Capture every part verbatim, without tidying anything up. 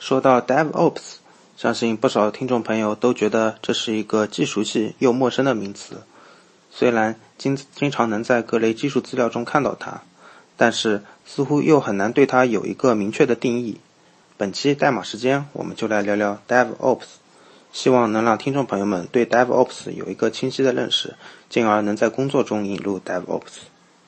说到 DevOps， 相信不少听众朋友都觉得这是一个既熟悉又陌生的名词。虽然经经常能在各类技术资料中看到它，但是似乎又很难对它有一个明确的定义。本期代码时间，我们就来聊聊 DevOps， 希望能让听众朋友们对 DevOps 有一个清晰的认识，进而能在工作中引入 DevOps。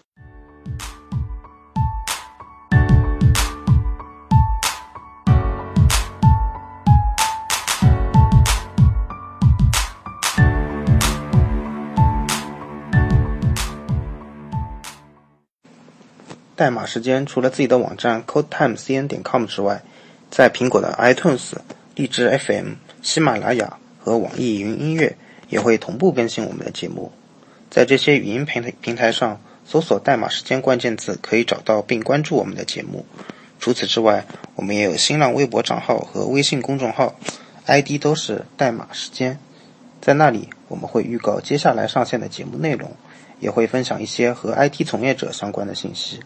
代码时间除了自己的网站 codetimecn 点 com 之外，在苹果的 iTunes、荔枝 F M、喜马拉雅和网易云音乐也会同步更新我们的节目。在这些语音平台平台上搜索代码时间关键字，可以找到并关注我们的节目。除此之外，我们也有新浪微博账号和微信公众号 I D 都是代码时间，在那里我们会预告接下来上线的节目内容，也会分享一些和 I T 从业者相关的信息。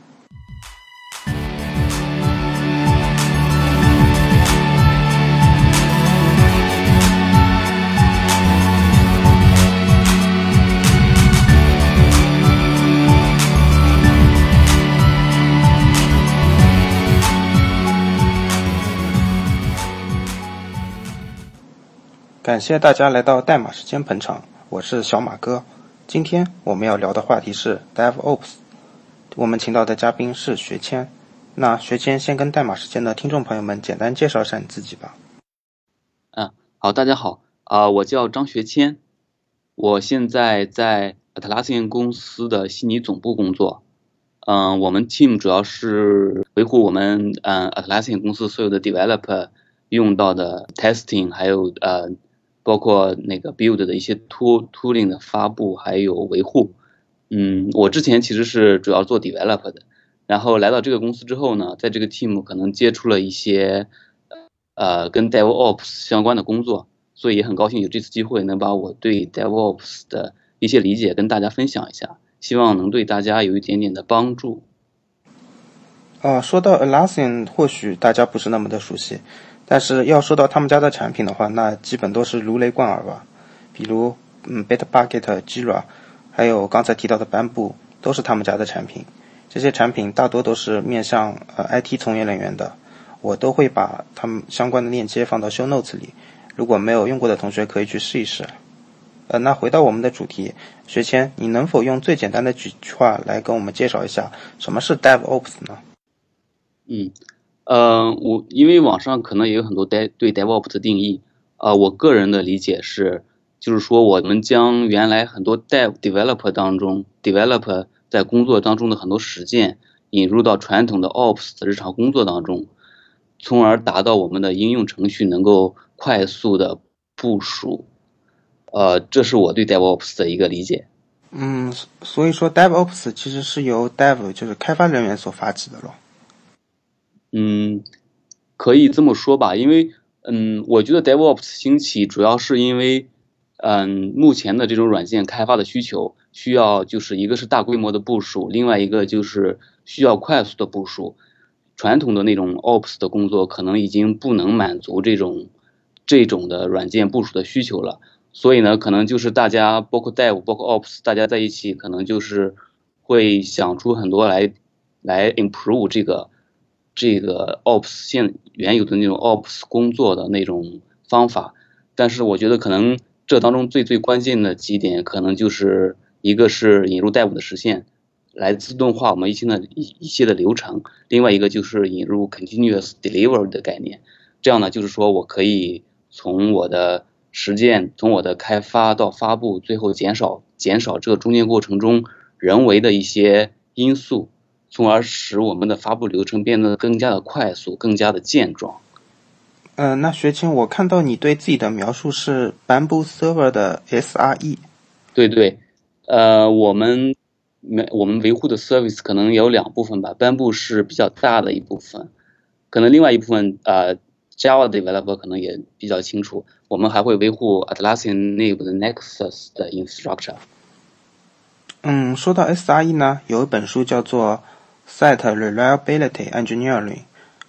感谢大家来到代码时间捧场，我是小马哥。今天我们要聊的话题是 DevOps， 我们请到的嘉宾是学谦。那学谦先跟代码时间的听众朋友们简单介绍一下你自己吧。 嗯，好，大家好，啊、呃，我叫张学谦，我现在在 Atlassian 公司的悉尼总部工作。嗯、呃，我们 team 主要是维护我们嗯、呃、Atlassian 公司所有的 developer 用到的 testing， 还有呃。包括那个 build 的一些 tool tooling 的发布还有维护。嗯，我之前其实是主要做 develop 的，然后来到这个公司之后呢，在这个 team 可能接触了一些呃跟 DevOps 相关的工作，所以也很高兴有这次机会能把我对 DevOps 的一些理解跟大家分享一下，希望能对大家有一点点的帮助。 呃，说到 Atlassian， 或许大家不是那么的熟悉，但是要说到他们家的产品的话，那基本都是如雷贯耳吧。比如，嗯 ，Bitbucket、Jira， 还有刚才提到的 Bamboo， 都是他们家的产品。这些产品大多都是面向呃 I T 从业人员的，我都会把他们相关的链接放到 show notes 里。如果没有用过的同学可以去试一试。呃，那回到我们的主题，学谦，你能否用最简单的几句话来跟我们介绍一下什么是 DevOps 呢？ 嗯，呃，我因为网上可能也有很多对 DevOps 的定义，呃，我个人的理解是，就是说我们将原来很多 Dev Developer 当中 Developer 在工作当中的很多实践引入到传统的 Ops 的日常工作当中，从而达到我们的应用程序能够快速的部署。呃，这是我对 DevOps 的一个理解。 嗯，所以说 DevOps 其实是由 Dev 就是开发人员所发起的咯。 嗯，可以这么说吧，因为嗯，我觉得 DevOps 兴起主要是因为嗯，目前的这种软件开发的需求需要就是一个是大规模的部署，另外一个就是需要快速的部署。传统的那种 Ops 的工作可能已经不能满足这种这种的软件部署的需求了，所以呢，可能就是大家包括 Dev 包括 Ops 大家在一起，可能就是会想出很多来来 improve 这个这个 Ops 现原有的那种 Ops 工作的那种方法。但是我觉得可能这当中最最关键的几点，可能就是一个是引入 Dev 的实现，来自动化我们一些的一一些的流程，另外一个就是引入 continuous delivery 的概念。这样呢，就是说我可以从我的实践，从我的开发到发布，最后减少减少这个中间过程中人为的一些因素，从而使我们的发布流程变得更加的快速，更加的健壮。 呃，那学谦，我看到你对自己的描述是 Bamboo Server 的 S R E。 对对，呃，我们我们维护的 service 可能有两部分吧 ，Bamboo 是比较大的一部分，可能另外一部分呃 Java developer 可能也比较清楚，我们还会维护 Atlassian 内部的 Nexus 的 infrastructure。 嗯，说到 S R E 呢，有一本书叫做 Site Reliability Engineering，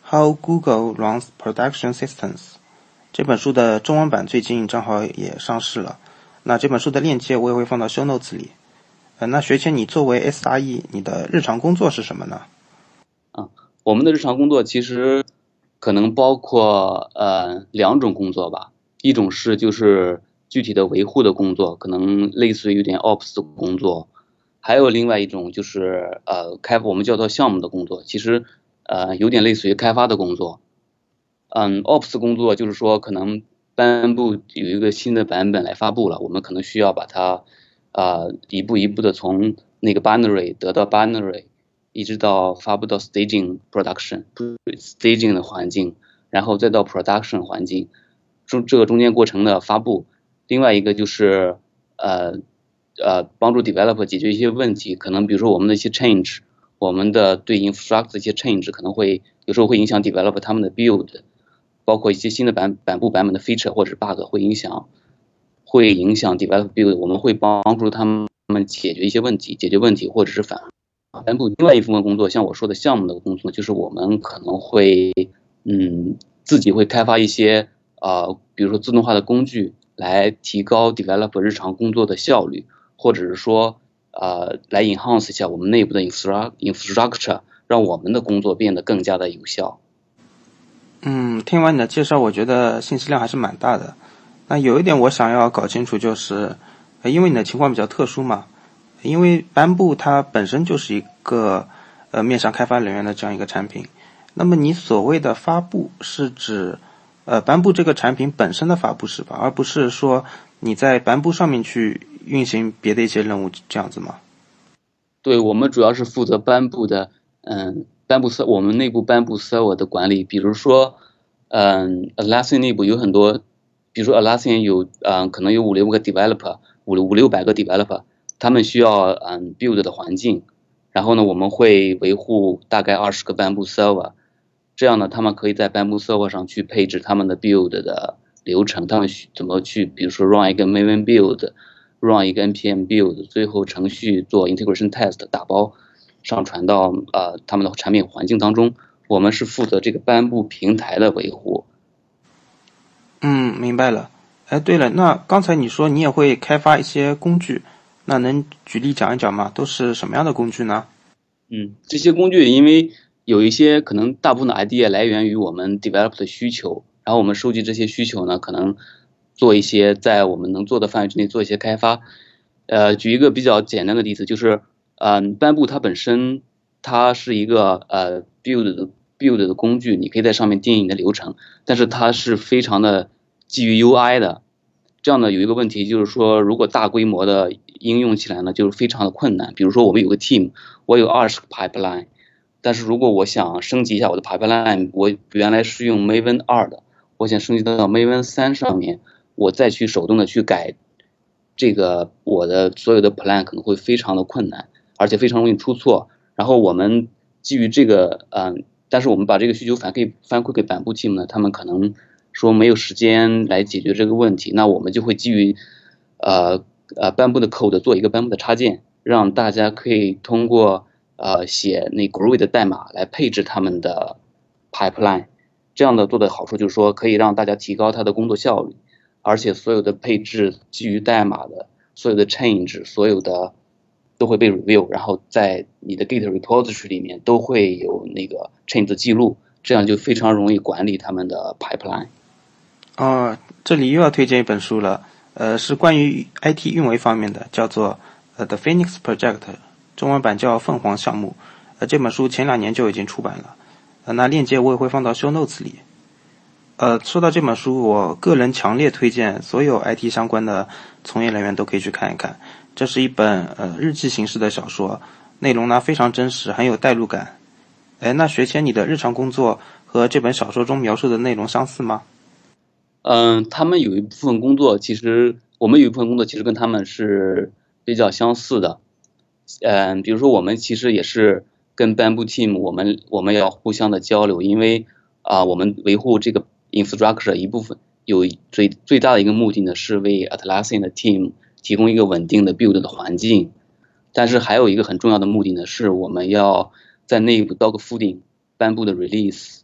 How Google Runs Production Systems》。这本书的中文版最近正好也上市了，那这本书的链接我也会放到 show notes 里。呃，那学谦，你作为 S R E， 你的日常工作是什么呢？ 啊，我们的日常工作其实可能包括呃两种工作吧，一种是就是具体的维护的工作，可能类似于有点 Ops 的工作，还有另外一种就是呃开我们叫做项目的工作，其实呃有点类似于开发的工作。嗯 ，Ops 工作就是说可能颁布有一个新的版本来发布了，我们可能需要把它呃一步一步的从那个 binary 得到 binary， 一直到发布到 staging production staging 的环境，然后再到 production 环境，中这个中间过程的发布。另外一个就是呃呃帮助 developer 解决一些问题，可能比如说我们的一些 change， 我们的对 infrastructure 的一些 change 可能会有时候会影响 developer 他们的 build。包括一些新的版版布版本的 feature 或者是 bug 会影响会影响 develop build， 我们会帮助他们解决一些问题，解决问题或者是反颁布。另外一部分工作，像我说的项目的工作，就是我们可能会嗯自己会开发一些呃比如说自动化的工具来提高 developer 日常工作的效率，或者是说呃来 enhance 一下我们内部的 infrastructure， 让我们的工作变得更加的有效。 嗯，听完你的介绍，我觉得信息量还是蛮大的。那有一点我想要搞清楚，就是因为你的情况比较特殊嘛，因为颁布它本身就是一个呃面向开发人员的这样一个产品。那么你所谓的发布是指呃颁布这个产品本身的发布是吧，而不是说你在颁布上面去运行别的一些任务这样子吗？ 对，我们主要是负责颁布的，嗯，颁布 ser 我们内部颁布 server 的管理，比如说，嗯 ，Atlassian 内部有很多，比如说 Atlassian 有，嗯，可能有五六个 developer， 五五六百个 developer， 他们需要嗯 build 的环境，然后呢，我们会维护大概二十个颁布 server， 这样呢，他们可以在颁布 server 上去配置他们的 build 的流程，他们怎么去，比如说 run 一个 Maven build。run 一个 npm build， 最后程序做 integration test 打包上传到呃他们的产品环境当中，我们是负责这个颁布平台的维护。 嗯，明白了。哎，对了，那刚才你说你也会开发一些工具，那能举例讲一讲吗？都是什么样的工具呢？ 嗯，这些工具因为有一些可能大部分的 idea 来源于我们 develop 的需求，然后我们收集这些需求呢，可能做一些在我们能做的范围之内做一些开发。呃，举一个比较简单的例子，就是嗯，颁布它本身它是一个呃 build 的 build 的工具，你可以在上面定义你的流程，但是它是非常的基于 U I 的。这样的有一个问题就是说，如果大规模的应用起来呢，就是非常的困难。比如说我们有个 team， 我有二十个 pipeline， 但是如果我想升级一下我的 pipeline， 我原来是用 Maven 二的，我想升级到 Maven 三上面，我再去手动的去改这个我的所有的 plan 可能会非常的困难，而且非常容易出错。然后我们基于这个，嗯，但是我们把这个需求反馈反馈给版布 team 呢，他们可能说没有时间来解决这个问题，那我们就会基于呃呃颁布的 code 做一个颁布的插件，让大家可以通过呃写那 Groovy 的代码来配置他们的 pipeline。这样的做的好处就是说可以让大家提高他的工作效率，而且所有的配置基于代码的所有的 change 所有的都会被 review， 然后在你的 Git repository 里面都会有那个 change 的记录，这样就非常容易管理他们的 pipeline。 哦，这里又要推荐一本书了，呃，是关于 I T 运维方面的，叫做呃 The Phoenix Project， 中文版叫凤凰项目。呃，这本书前两年就已经出版了，呃，那链接我也会放到 show notes 里。呃，说到这本书，我个人强烈推荐所有 I T 相关的从业人员都可以去看一看。这是一本呃日记形式的小说，内容呢非常真实，很有代入感。哎，那学谦，你的日常工作和这本小说中描述的内容相似吗？ 嗯，他们有一部分工作，其实我们有一部分工作其实跟他们是比较相似的。嗯，比如说我们其实也是跟 Bamboo Team，我们我们要互相的交流，因为啊、呃我们维护这个 infrastructure 一部分有最最大的一个目的呢，是为 Atlassian 的 team 提供一个稳定的 build 的环境。但是还有一个很重要的目的呢，是我们要在内部 dog fooding 颁布的 release。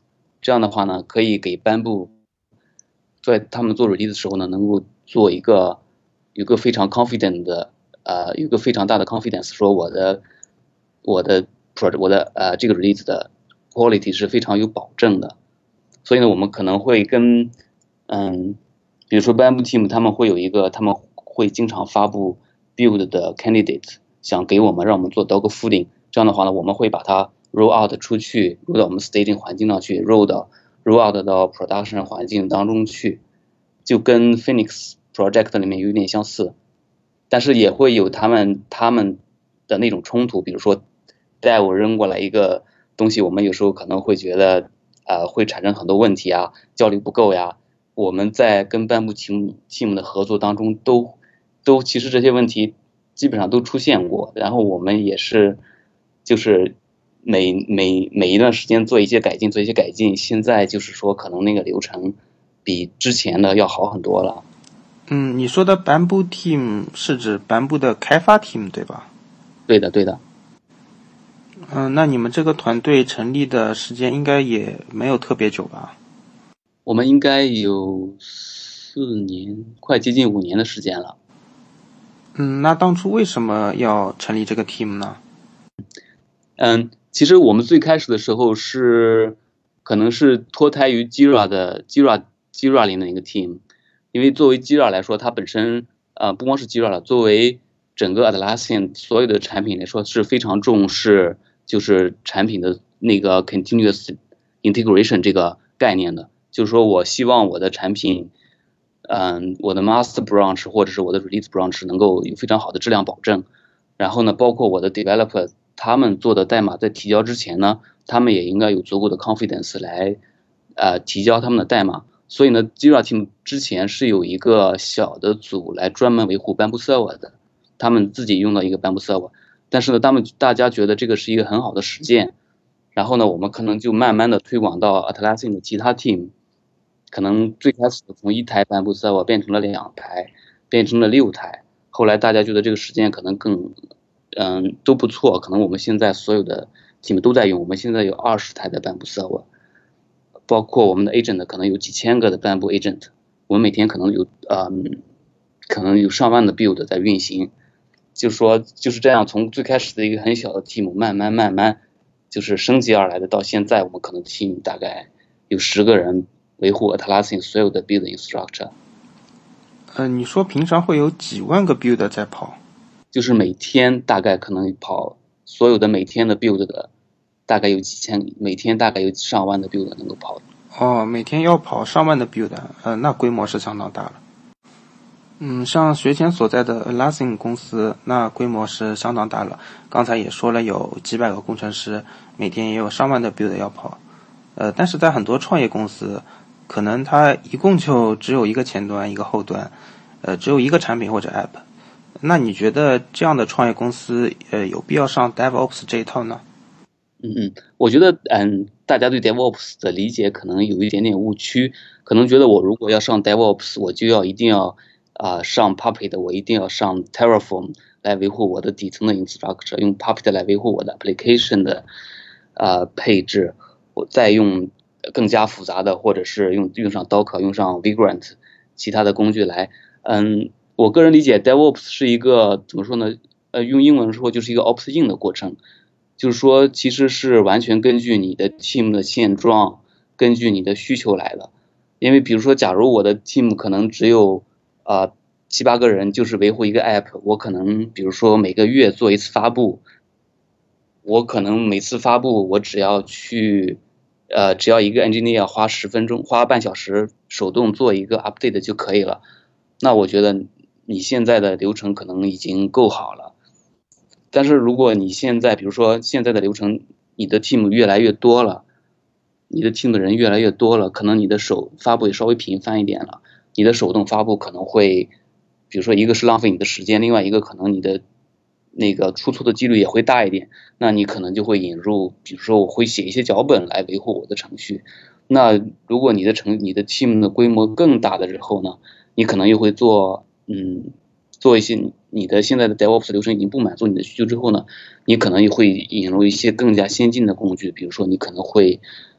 这样的话呢，可以给班部在他们做 release 的时候呢，能够做一个有一个非常 confident 的呃，有一个非常大的 confidence， 说我的我的 project 我的呃这个 release 的 quality 是非常有保证的。所以呢，我们可能会跟嗯，比如说 Bamboo Team 他们会有一个，他们会经常发布 build 的 candidate， 想给我们让我们做 dog fooding， 这样的话呢，我们会把它 roll out 出去 ，roll 到我们 staging 环境上去 ，roll 到 roll out 到 production 环境当中去，就跟 Phoenix Project 里面有点相似，但是也会有他们他们的那种冲突，比如说 Dev 扔过来一个东西，我们有时候可能会觉得呃会产生很多问题啊，效率不够呀。我们在跟Bamboo Team Team 的合作当中都都其实这些问题基本上都出现过，然后我们也是就是每每每一段时间做一些改进，做一些改进。现在就是说可能那个流程比之前的要好很多了。 嗯，你说的 Bamboo Team 是指 Bamboo 的开发 team 对吧？ 对的，对的。 嗯，那你们这个团队成立的时间应该也没有特别久吧？ 我们应该有四年，快接近五年的时间了。 嗯，那当初为什么要成立这个 team 呢？ 嗯，其实我们最开始的时候是可能是脱胎于 Jira 的 Jira Jira 里的一个 team， 因为作为 Jira 来说，它本身呃不光是 Jira 了，作为整个 Atlassian 所有的产品来说是非常重视就是产品的那个 continuous integration 这个概念的。就是说我希望我的产品，嗯，我的 master branch 或者是我的 release branch 能够有非常好的质量保证。然后呢，包括我的 developer 他们做的代码在提交之前呢，他们也应该有足够的 confidence 来呃提交他们的代码。所以呢 Jira Team 之前是有一个小的组来专门维护 Bamboo Server 的，他们自己用到一个 Bamboo Server， 但是呢，他们大家觉得这个是一个很好的实践，然后呢，我们可能就慢慢的推广到 Atlassian 的其他 team。可能最开始从一台 Bamboo Server 变成了两台，变成了六台，后来大家觉得这个实践可能更，嗯，都不错，可能我们现在所有的 team 都在用，我们现在有二十台的 Bamboo Server， 包括我们的 agent 可能有几千个的 Bamboo agent， 我们每天可能有，嗯，可能有上万的 build 在运行，就说就是这样，从最开始的一个很小的 team 慢慢慢慢就是升级而来的，到现在我们可能 team 大概有十个人。维护 Atlassian 所有的 build infrastructure。 呃，你说平常会有几万个 build 在跑？ 就是每天大概可能跑所有的每天的 build 的，大概有几千，每天大概有上万的 build 能够跑。 哦，每天要跑上万的 build，呃，那规模是相当大了。嗯，像学前所在的 Atlassian 公司，那规模是相当大了。刚才也说了，有几百个工程师，每天也有上万的 build 要跑。呃，但是在很多创业公司，可能它一共就只有一个前端，一个后端，呃，只有一个产品或者 app。那你觉得这样的创业公司，呃，有必要上 DevOps 这一套呢？ 嗯嗯，我觉得，嗯，大家对 DevOps 的理解可能有一点点误区，可能觉得我如果要上 DevOps，我就要一定要啊、呃、上 Puppet， 我一定要上 Terraform 来维护我的底层的 infrastructure， 用 Puppet 来维护我的 application 的呃配置，我再用更加复杂的，或者是用用上 Docker， 用上 Vagrant 其他的工具来，嗯，我个人理解 DevOps 是一个怎么说呢？呃，用英文说就是一个 Ops in 的过程。就是说，其实是完全根据你的 team 的现状，根据你的需求来的。因为比如说，假如我的 team 可能只有呃七八个人，就是维护一个 app， 我可能比如说每个月做一次发布，我可能每次发布我只要去呃只要一个 engineer 花十分钟，花半小时手动做一个 update 就可以了。那我觉得你现在的流程可能已经够好了。但是如果你现在比如说现在的流程，你的 team 越来越多了，你的 team 的人越来越多了，可能你的手发布也稍微频繁一点了，你的手动发布可能会，比如说一个是浪费你的时间，另外一个可能你的那个出错的几率也会大一点，那你可能就会引入，比如说我会写一些脚本来维护我的程序。那如果你的程你的 team 的规模更大的时候呢，你可能又会做嗯。做一些你的现在的 DevOps 流程已经不满足你的需求之后呢，你可能也会引入一些更加先进的工具，比如说你可能会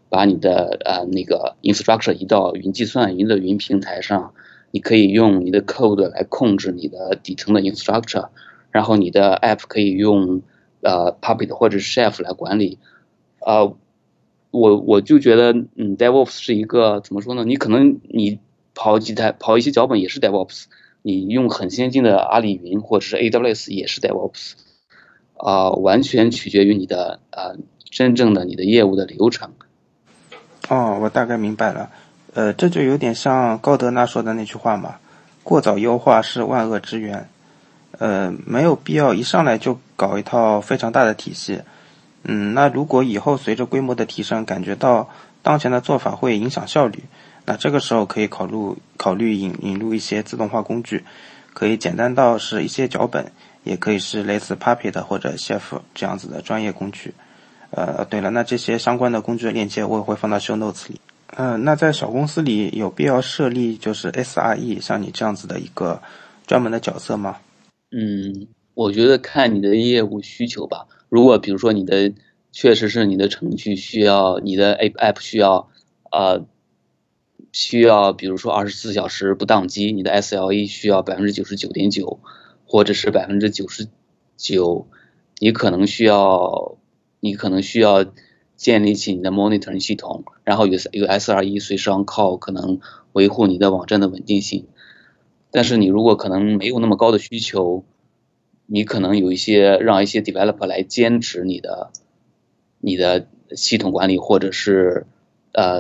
把你的呃那个 infrastructure 移到云计算、云的云平台上，你可以用你的 code 来控制你的底层的 infrastructure，然后你的 app 可以用呃 Puppet 或者是 Chef 来管理。呃，我我就觉得，嗯，DevOps 是一个怎么说呢？你可能你跑几台跑一些脚本也是 DevOps，你用很先进的阿里云或者是 A W S 也是 DevOps，啊、呃，完全取决于你的呃真正的你的业务的流程。 哦，我大概明白了。呃，这就有点像高德纳说的那句话嘛，过早优化是万恶之源。呃，没有必要一上来就搞一套非常大的体系。嗯，那如果以后随着规模的提升，感觉到当前的做法会影响效率，那这个时候可以考虑考虑引引入一些自动化工具，可以简单到是一些脚本，也可以是类似 Puppet 或者 Chef 这样子的专业工具。呃，对了，那这些相关的工具的链接我也会放到 show notes 里。呃，那在小公司里有必要设立就是 S R E 像你这样子的一个专门的角色吗？ 嗯，我觉得看你的业务需求吧。如果比如说你的确实是你的程序需要，你的 app 需要，呃，需要比如说二十四小时不宕机，你的 S L E 需要百分之九十九点九，或者是百分之九十九，你可能需要，你可能需要建立起你的 monitoring 系统，然后有有 S R E 随时 on call，可能维护你的网站的稳定性。但是你如果可能没有那么高的需求，你可能有一些让一些 developer 来兼职你的你的系统管理，或者是呃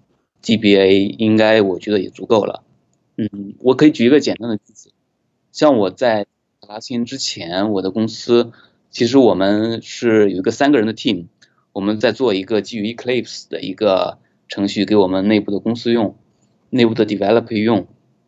D B A， 应该我觉得也足够了。嗯，我可以举一个简单的例子，像我在拉新之前，我的公司其实我们是有一个三个人的 team，我们在做一个基于 Eclipse 的一个程序给我们内部的公司用，内部的 developer 用。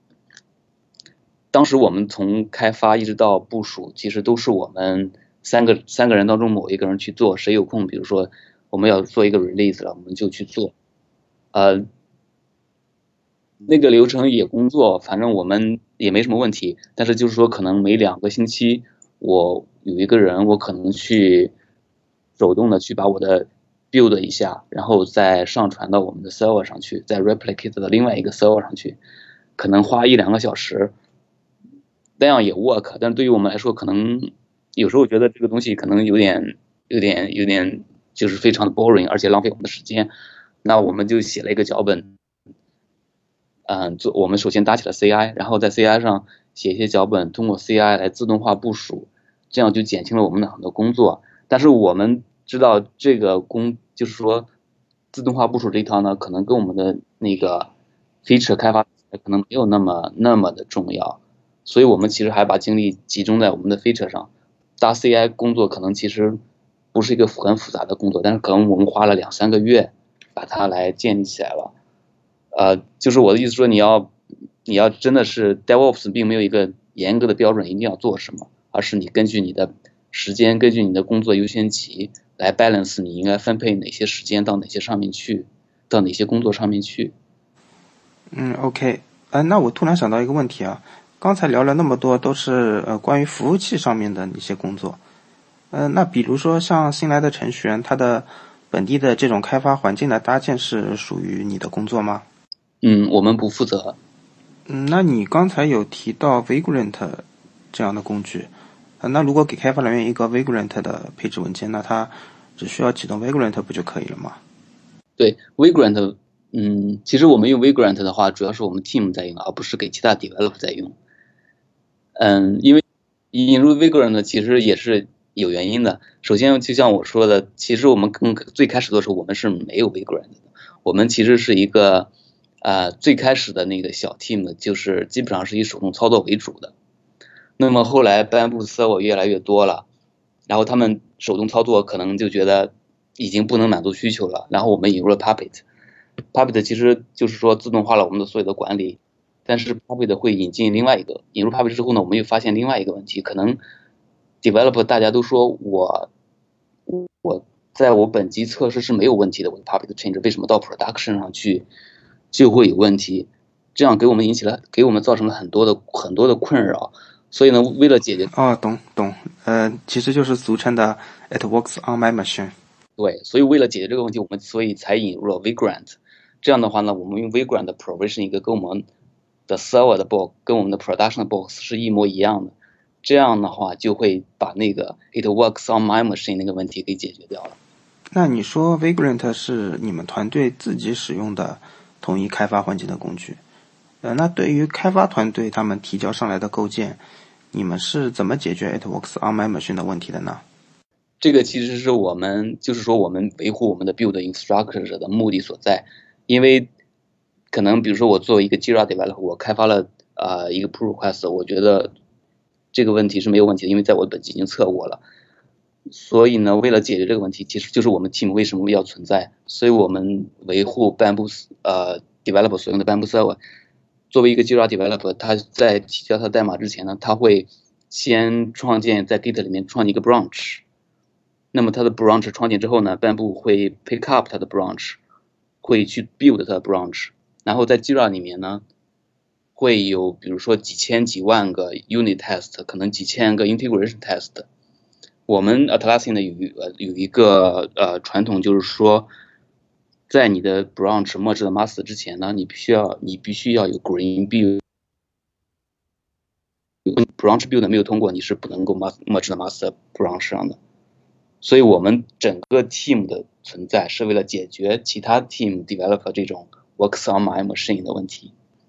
当时我们从开发一直到部署，其实都是我们三个三个人当中某一个人去做，谁有空，比如说我们要做一个 release 了，我们就去做。呃，那个流程也工作，反正我们也没什么问题。但是就是说，可能每两个星期，我有一个人，我可能去手动的去把我的 build 一下，然后再上传到我们的 server 上去，再 replicate 到另外一个 server 上去，可能花一两个小时。那样也 work， 但是对于我们来说，可能有时候觉得这个东西可能有点、有点、有点就是非常的 boring， 而且浪费我们的时间。那我们就写了一个脚本，嗯，做我们首先搭起了 C I， 然后在 C I 上写一些脚本，通过 C I 来自动化部署，这样就减轻了我们的很多工作。但是我们知道这个工就是说自动化部署这一套呢，可能跟我们的那个 feature 开发可能没有那么那么的重要。所以我们其实还把精力集中在我们的 feature 上，搭 C I 工作可能其实不是一个很复杂的工作，但是可能我们花了两三个月把它来建立起来了。呃，就是我的意思说，你要你要真的是 DevOps 并没有一个严格的标准，一定要做什么，而是你根据你的时间，根据你的工作优先级来 balance 你应该分配哪些时间到哪些上面去，到哪些工作上面去。 嗯，OK，呃，那我突然想到一个问题啊，刚才聊了那么多都是呃关于服务器上面的一些工作，呃，那比如说像新来的程序员，他的本地的这种开发环境的搭建是属于你的工作吗？ 嗯，我们不负责。 嗯，那你刚才有提到 Vagrant 这样的工具，呃，那如果给开发人员一个 Vagrant 的配置文件，那他只需要启动 Vagrant 不就可以了吗？ 对 Vagrant， 嗯，其实我们用 Vagrant 的话，主要是我们 team 在用，而不是给其他 developer 在用。嗯，因为引入 Vagrant 其实也是有原因的。首先，就像我说的，其实我们更最开始的时候，我们是没有 Vagrant 的。我们其实是一个呃最开始的那个小 team，就是基本上是以手动操作为主的。那么后来颁布 server 越来越多了，然后他们手动操作可能就觉得已经不能满足需求了，然后我们引入了 Puppet。Puppet 其实就是说自动化了我们的所有的管理，但是 Puppet 会引进另外一个，引入 Puppet 之后呢，我们又发现另外一个问题，可能 developer 大家都说我我在我本机测试是没有问题的，我的 Puppet change 为什么到 production 上去就会有问题？这样给我们引起了给我们造成了很多的很多的困扰。所以呢，为了解决， 哦，懂懂，呃，其实就是俗称的 "It works on my machine"。 对，所以为了解决这个问题，我们所以才引入了 Vagrant。这样的话呢，我们用 Vagrant 的 provision 一个跟我们的 server 的 box 跟我们的 production 的 box 是一模一样的。这样的话就会把那个 it works on my machine 那个问题给解决掉了。 那你说 Vagrant 是你们团队自己使用的统一开发环境的工具，呃，那对于开发团队他们提交上来的构建，你们是怎么解决 it works on my machine 的问题的呢？ 这个其实是我们就是说我们维护我们的 build infrastructure 的目的所在，因为可能比如说我作为一个 Jira developer， 我开发了呃一个 pull request， 我觉得这个问题是没有问题的，因为在我本机已经测过了。所以呢，为了解决这个问题，其实就是我们 team 为什么要存在，所以我们维护 Bamboo 呃 developer 所用的 Bamboo server。作为一个 Jira developer， 他在提交他的代码之前呢，他会先创建在 Git 里面创建一个 branch。那么它的 branch 创建之后呢 ，Bamboo 会 pick up 它的 branch， 会去 build 它的 branch， 然后在 Jira 里面呢，会有比如说几千几万个 unit test， 可能几千个 integration test。我们 Atlassian 的有呃有一个呃传统，就是说，在你的 branch merge 的 master 之前呢，你必须要你必须要有 green build。branch build 没有通过，你是不能够 merge 的 master branch 上的。所以我们整个 team 的存在是为了解决其他 team developer 这种 works on my machine 的问题。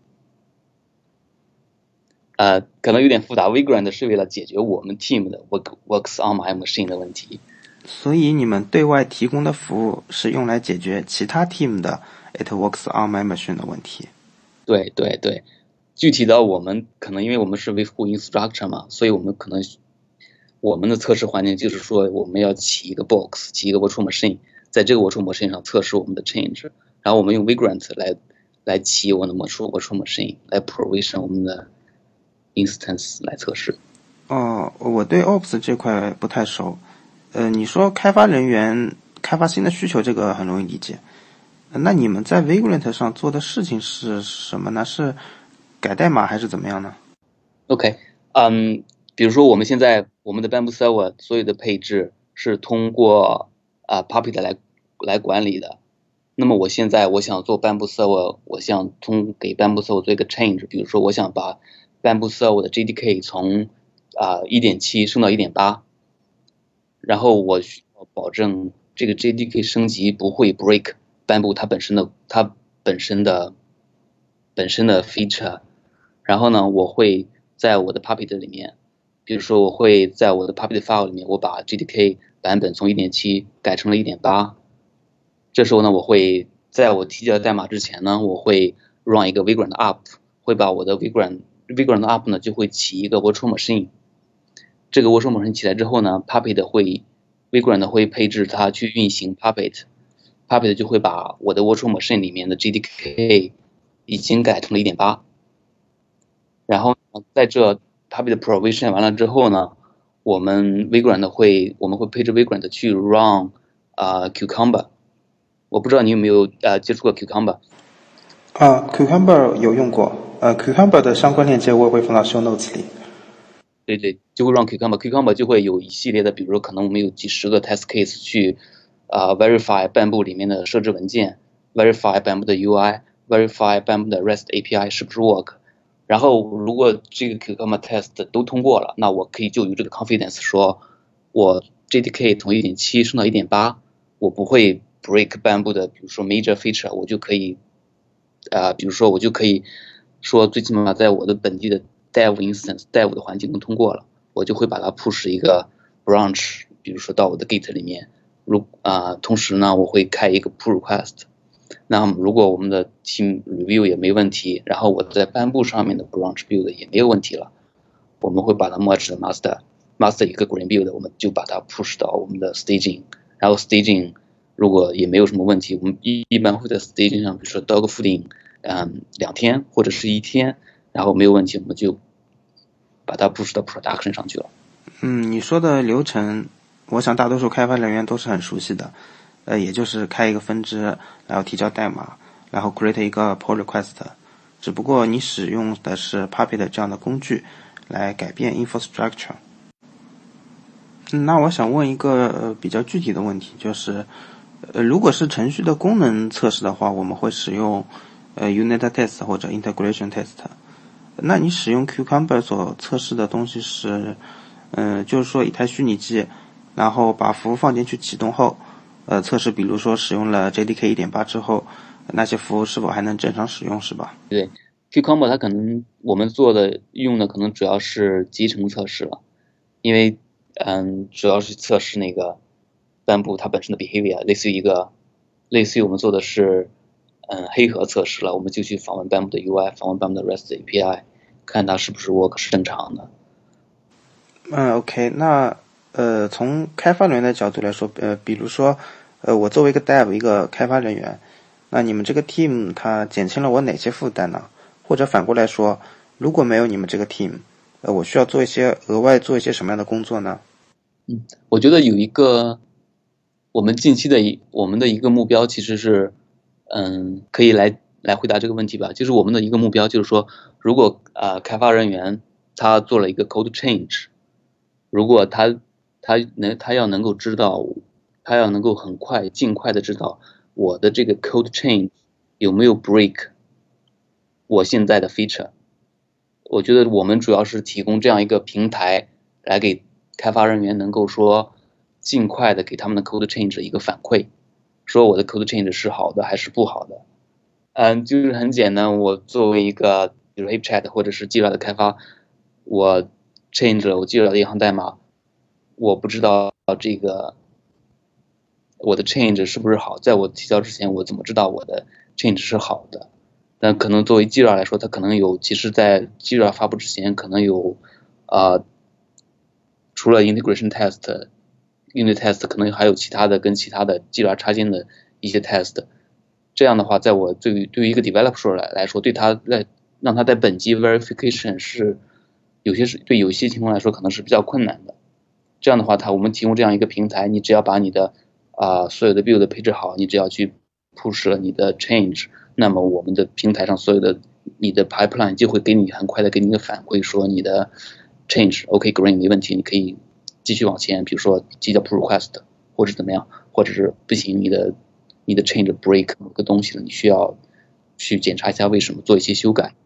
呃，可能有点复杂 ，Vagrant 是为了解决我们 team 的 work works on my machine 的问题。 所以你们对外提供的服务是用来解决其他 team 的 it works on my machine 的问题。 对对对，具体的我们可能因为我们是维护 infrastructure 嘛，所以我们可能我们的测试环境就是说我们要起一个 box， 起一个 virtual machine， 在这个 virtual machine 上测试我们的 change， 然后我们用 Vagrant 来来起我们的 virtual virtual machine， 来 provision 我们的 instance 来测试。 哦，我对 Ops 这块不太熟。呃，你说开发人员开发新的需求，这个很容易理解。那你们在 Vagrant 上做的事情是什么呢？是改代码还是怎么样呢 ？OK， 嗯，比如说我们现在我们的 Bamboo Server 所有的配置是通过啊、呃、Puppet 来来管理的。那么我现在我想做 Bamboo Server， 我想通给 Bamboo Server 做一个 change， 比如说我想把 Bamboo Server 的 J D K 从啊 一点七 升到 一点八， 然后我需要保证这个 J D K 升级不会 break Bamboo 它本身的它本身的本身的 feature。然后呢，我会在我的 Puppet 里面，比如说我会在我的 Puppet file 里面，我把 J D K 版本从 一点七 改成了 一点八。这时候呢，我会在我提交代码之前呢，我会 run 一个 Vagrant up， 会把我的 Vagrant Vagrant up 呢就会起一个 virtual machine。这个 virtual machine 起来之后呢 ，Puppet 会 Vagrant 会配置它去运行 Puppet，Puppet 就会把我的 virtual machine 里面的 J D K 已经改成了 一点八。然后在这 Puppet provision 完了之后呢，我们 Vagrant 会我们会配置 Vagrant 去 run 啊、呃、Cucumber。我不知道你有没有呃接触过 Cucumber。 啊 Cucumber 有用过，呃 Cucumber 的相关链接我也会放到 show notes 里。 对对，就会让 Cucumber，Cucumber 就会有一系列的，比如说可能我们有几十个 test case 去啊、呃、verify Bamboo 里面的设置文件 ，verify Bamboo 的 U I，verify Bamboo 的 REST A P I 是不是 work。然后如果这个 Cucumber test 都通过了，那我可以就有这个 confidence 说，我 J D K 从 一点七 升到 一点八， 我不会 break Bamboo 的，比如说 major feature， 我就可以啊、呃，比如说我就可以说最起码在我的本地的 dev instance dev 的环境能通过了，我就会把它 push 一个 branch， 比如说到我的 Git 里面。如啊、呃，同时呢，我会开一个 pull request。那么如果我们的 team review 也没问题，然后我在 Bamboo 上面的 branch build 也没有问题了，我们会把它 merge 的 master master 一个 green build， 我们就把它 push 到我们的 staging， 然后 staging 如果也没有什么问题，我们一一般会在 staging 上，比如说 dog fooding， 嗯，两天或者是一天，然后没有问题，我们就把它 push 到 production 上去了。 嗯，你说的流程，我想大多数开发人员都是很熟悉的，呃，也就是开一个分支，然后提交代码，然后 create 一个 pull request。只不过你使用的是 Puppet 这样的工具来改变 infrastructure。 那我想问一个呃比较具体的问题，就是呃如果是程序的功能测试的话，我们会使用呃 unit test 或者 integration test。那你使用 Cucumber 所测试的东西是，呃，就是说一台虚拟机，然后把服务放进去启动后，呃，测试比如说使用了 J D K 一点八 之后，那些服务是否还能正常使用，是吧？ 对 ，Cucumber 它可能我们做的用的可能主要是集成测试了，因为嗯，主要是测试那个Bamboo它本身的 behavior，类似于一个类似于我们做的是嗯黑盒测试了，我们就去访问 Bamboo 的 U I， 访问 Bamboo 的 REST A P I， 看它是不是 work 是正常的。 嗯 ，OK，那呃，从开发人员的角度来说，呃，比如说，呃，我作为一个 Dev 一个开发人员，那你们这个 team 它减轻了我哪些负担呢？或者反过来说，如果没有你们这个 team，呃，我需要做一些额外做一些什么样的工作呢？ 嗯，我觉得有一个我们近期的一我们的一个目标其实是，嗯，可以来来回答这个问题吧。就是我们的一个目标就是说，如果啊、呃、开发人员他做了一个 code change，如果他他能他要能够知道，他要能够很快尽快的知道我的这个 code change 有没有 break 我现在的 feature。我觉得我们主要是提供这样一个平台来给开发人员能够说尽快的给他们的 code change 一个反馈，说我的 code change 是好的还是不好的。嗯，就是很简单，我作为一个比如 HipChat 或者是 Jira 的开发，我 change 了我 Jira 的一行代码，我不知道这个我的 change 是不是好，在我提交之前我怎么知道我的 change 是好的？那可能作为 Jira 来说，它可能有，其实在 Jira 发布之前，可能有啊、呃，除了 integration test、unit test，可能还有其他的跟其他的 Jira 插件的一些 test。这样的话，在我对于对于一个 developer 来来说，对他在让他在本机 verification 是有些是对有些情况来说可能是比较困难的。这样的话，它我们提供这样一个平台，你只要把你的啊、呃、所有的 build 配置好，你只要去 push 了你的 change。那么我们的平台上所有的你的 pipeline 就会给你很快的给你一个反馈，说你的 change OK green 没问题，你可以继续往前，比如说提交 pull request 或者怎么样，或者是不行，你的你的 change break 某个东西了，你需要去检查一下为什么，做一些修改。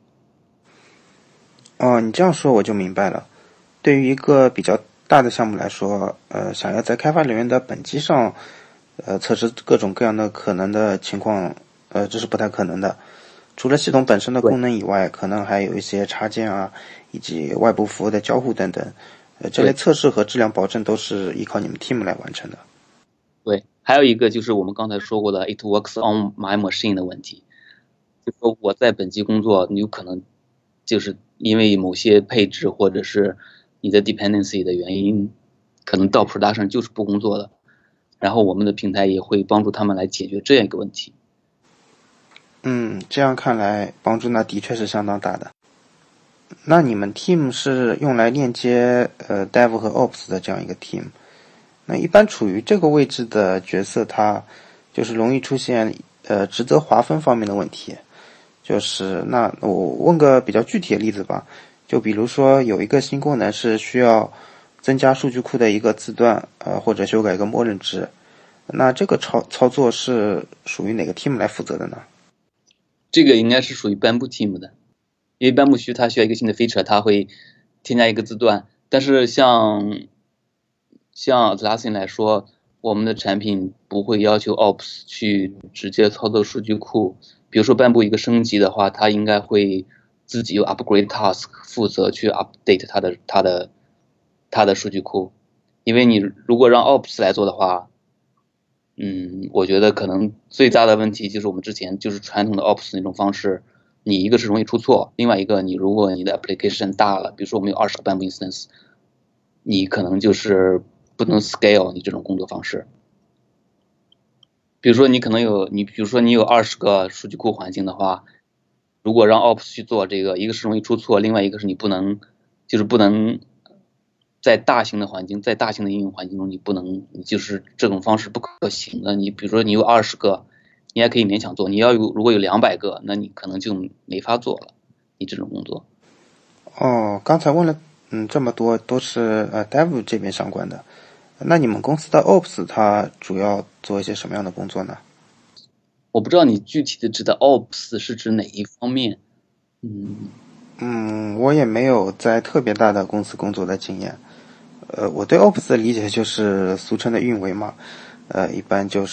哦，你这样说我就明白了。对于一个比较大的项目来说，呃，想要在开发人员的本机上，呃，测试各种各样的可能的情况，呃，这是不太可能的。除了系统本身的功能以外，可能还有一些插件啊，以及外部服务的交互等等。呃，这类测试和质量保证都是依靠你们 team 来完成的。 对，还有一个就是我们刚才说过的 "It works on my machine" 的问题，就是说我在本机工作，你有可能就是因为某些配置或者是你的 dependency 的原因，可能到 production 就是不工作的。然后我们的平台也会帮助他们来解决这样一个问题。 嗯，这样看来帮助那的确是相当大的。那你们 team 是用来链接呃 dev 和 ops 的这样一个 team。那一般处于这个位置的角色，它就是容易出现呃职责划分方面的问题。就是那我问个比较具体的例子吧，就比如说有一个新功能是需要增加数据库的一个字段，呃或者修改一个默认值，那这个操操作是属于哪个 team 来负责的呢？ 这个应该是属于 Bamboo team 的，因为 Bamboo 需它需要一个新的 feature，它会添加一个字段。但是像像 Atlassian 来说，我们的产品不会要求 Ops 去直接操作数据库。比如说 Bamboo 一个升级的话，它应该会自己有 upgrade task 负责去 update 它的它的它的数据库。因为你如果让 Ops 来做的话，嗯，我觉得可能最大的问题就是我们之前就是传统的 Ops 那种方式，你一个是容易出错，另外一个你如果你的 application 大了，比如说我们有二十个 Bamboo instance，你可能就是不能 scale 你这种工作方式。比如说你可能有你比如说你有二十个数据库环境的话，如果让 Ops 去做这个，一个是容易出错，另外一个是你不能就是不能在大型的环境，在大型的应用环境中，你不能，你就是这种方式不可行的。你比如说你有二十个，你还可以勉强做，你要有如果有两百个，那你可能就没法做了，你这种工作。 哦，刚才问了， 嗯，这么多都是呃 Dev 这边相关的。那你们公司的 Ops 它主要做一些什么样的工作呢？ 我不知道你具体的指的 Ops 是指哪一方面。嗯嗯，我也没有在特别大的公司工作的经验。呃，我对 Ops 的理解就是俗称的运维嘛，呃，一般就是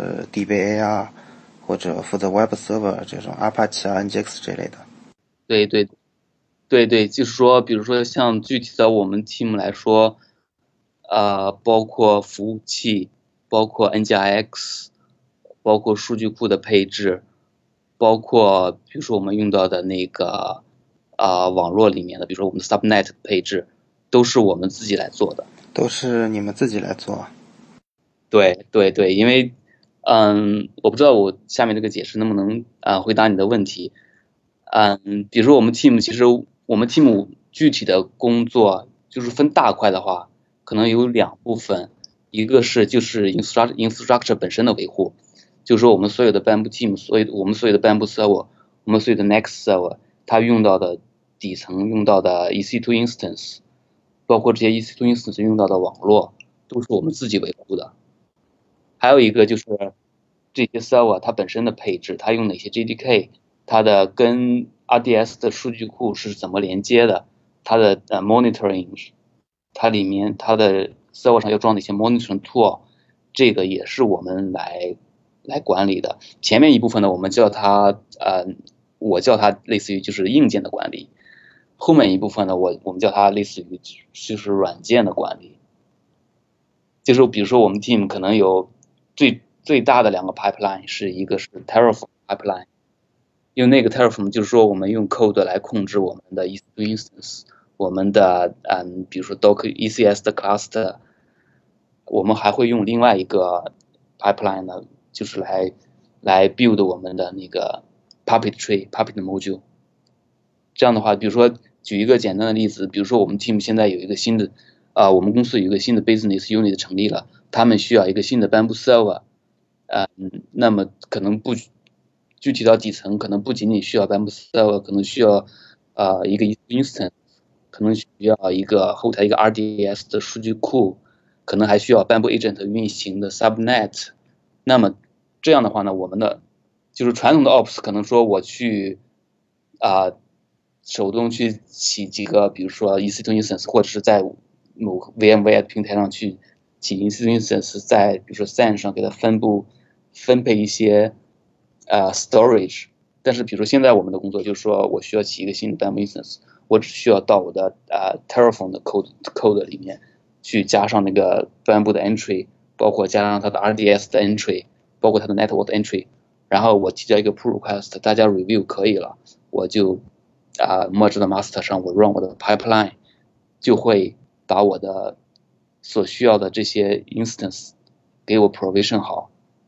D B A 啊，或者负责 Web Server 这种 Apache 啊、N G X 这类的。 对对对对，就是说，比如说像具体的我们 team 来说，呃，包括服务器，包括 N G I X，包括数据库的配置，包括比如说我们用到的那个啊、呃网络里面的，比如说我们的 subnet 配置，都是我们自己来做的。 都是你们自己来做。 对对对，因为嗯，我不知道我下面这个解释能不能啊、呃回答你的问题。嗯，比如说我们 team 其实我们 team 具体的工作就是分大块的话，可能有两部分，一个是就是 infrastructure infrastructure 本身的维护，就是说我们所有的 Bamboo team，所有我们所有的 Bamboo server，我们所有的 Next server，它用到的底层用到的 E C 二 instance，包括这些 E C 二 instance 用到的网络，都是我们自己维护的。还有一个就是这些 server 它本身的配置，它用哪些 J D K，它的跟 R D S 的数据库是怎么连接的，它的呃 monitoring，它里面它的 server 上要装哪些 monitoring tool，这个也是我们来来管理的。前面一部分呢，我们叫它呃，我叫它类似于就是硬件的管理，后面一部分呢，我我们叫它类似于就是软件的管理。就是比如说我们 team 可能有最最大的两个 pipeline， 是一个是 Terraform pipeline， 用那个 Terraform 就是说我们用 code 来控制我们的 E C 二 instance， 我们的嗯，比如说 Docker E C S 的 cluster， 我们还会用另外一个 pipeline 呢，就是来来 build 我们的那个 Puppet tree Puppet module。这样的话，比如说举一个简单的例子，比如说我们 team 现在有一个新的啊、呃，我们公司有一个新的 business unit 成立了，他们需要一个新的 Bamboo server， 呃，那么可能不具体到底层，可能不仅仅需要 Bamboo server， 可能需要呃一个 instance， 可能需要一个后台一个 R D S 的数据库，可能还需要 Bamboo agent 运行的 subnet。那么这样的话呢，我们的就是传统的 ops 可能说我去啊、呃手动去起几个，比如说 E C 二 instance， 或者是在某 VMware 平台上去起 E C 二 instance， 在比如说 S A N 上给它分布分配一些呃 storage。但是比如说现在我们的工作就是说我需要起一个新的 Bamboo instance， 我只需要到我的呃 Terraform 的 code code 里面去加上那个 Bamboo 的 entry， 包括加上它的 R D S 的 entry， 包括它的 network 的 entry， 然后我提交一个 pull request， 大家 review 可以了，我就啊、呃、merge 到 master 上，我 run 我的 pipeline， 就会把我的所需要的这些 instance 给我 provision 好。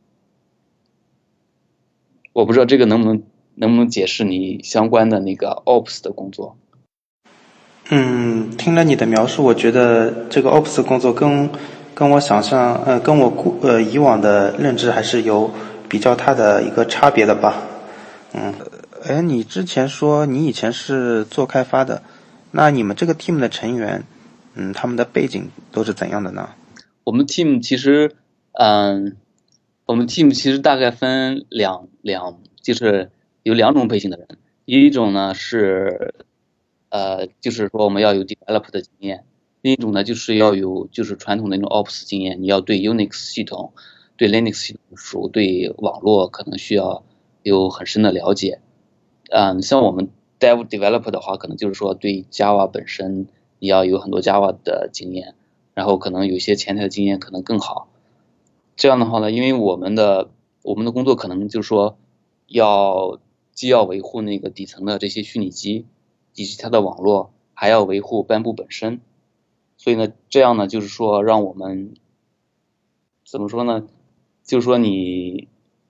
我不知道这个能不能能不能解释你相关的那个 ops 的工作。 嗯，听了你的描述，我觉得这个 Ops 工作跟跟我想象，呃，跟我过呃以往的认知还是有比较大的一个差别的吧。嗯，哎，你之前说你以前是做开发的，那你们这个 team 的成员，嗯，他们的背景都是怎样的呢？ 我们 team 其实，嗯，我们 team 其实大概分两两，就是有两种背景的人。一种呢是，呃，就是说我们要有 develop 的经验；另一种呢就是要有就是传统的那种 ops 经验，你要对 Unix 系统、对 Linux 系统熟，对网络可能需要有很深的了解。嗯，像我们 dev develop 的话，可能就是说对 Java 本身你要有很多 Java 的经验。然后可能有些前台的经验可能更好。这样的话呢，因为我们的我们的工作可能就是说要既要维护那个底层的这些虚拟机以及它的网络，还要维护班布本身。所以呢，这样呢就是说让我们怎么说呢？就是说你，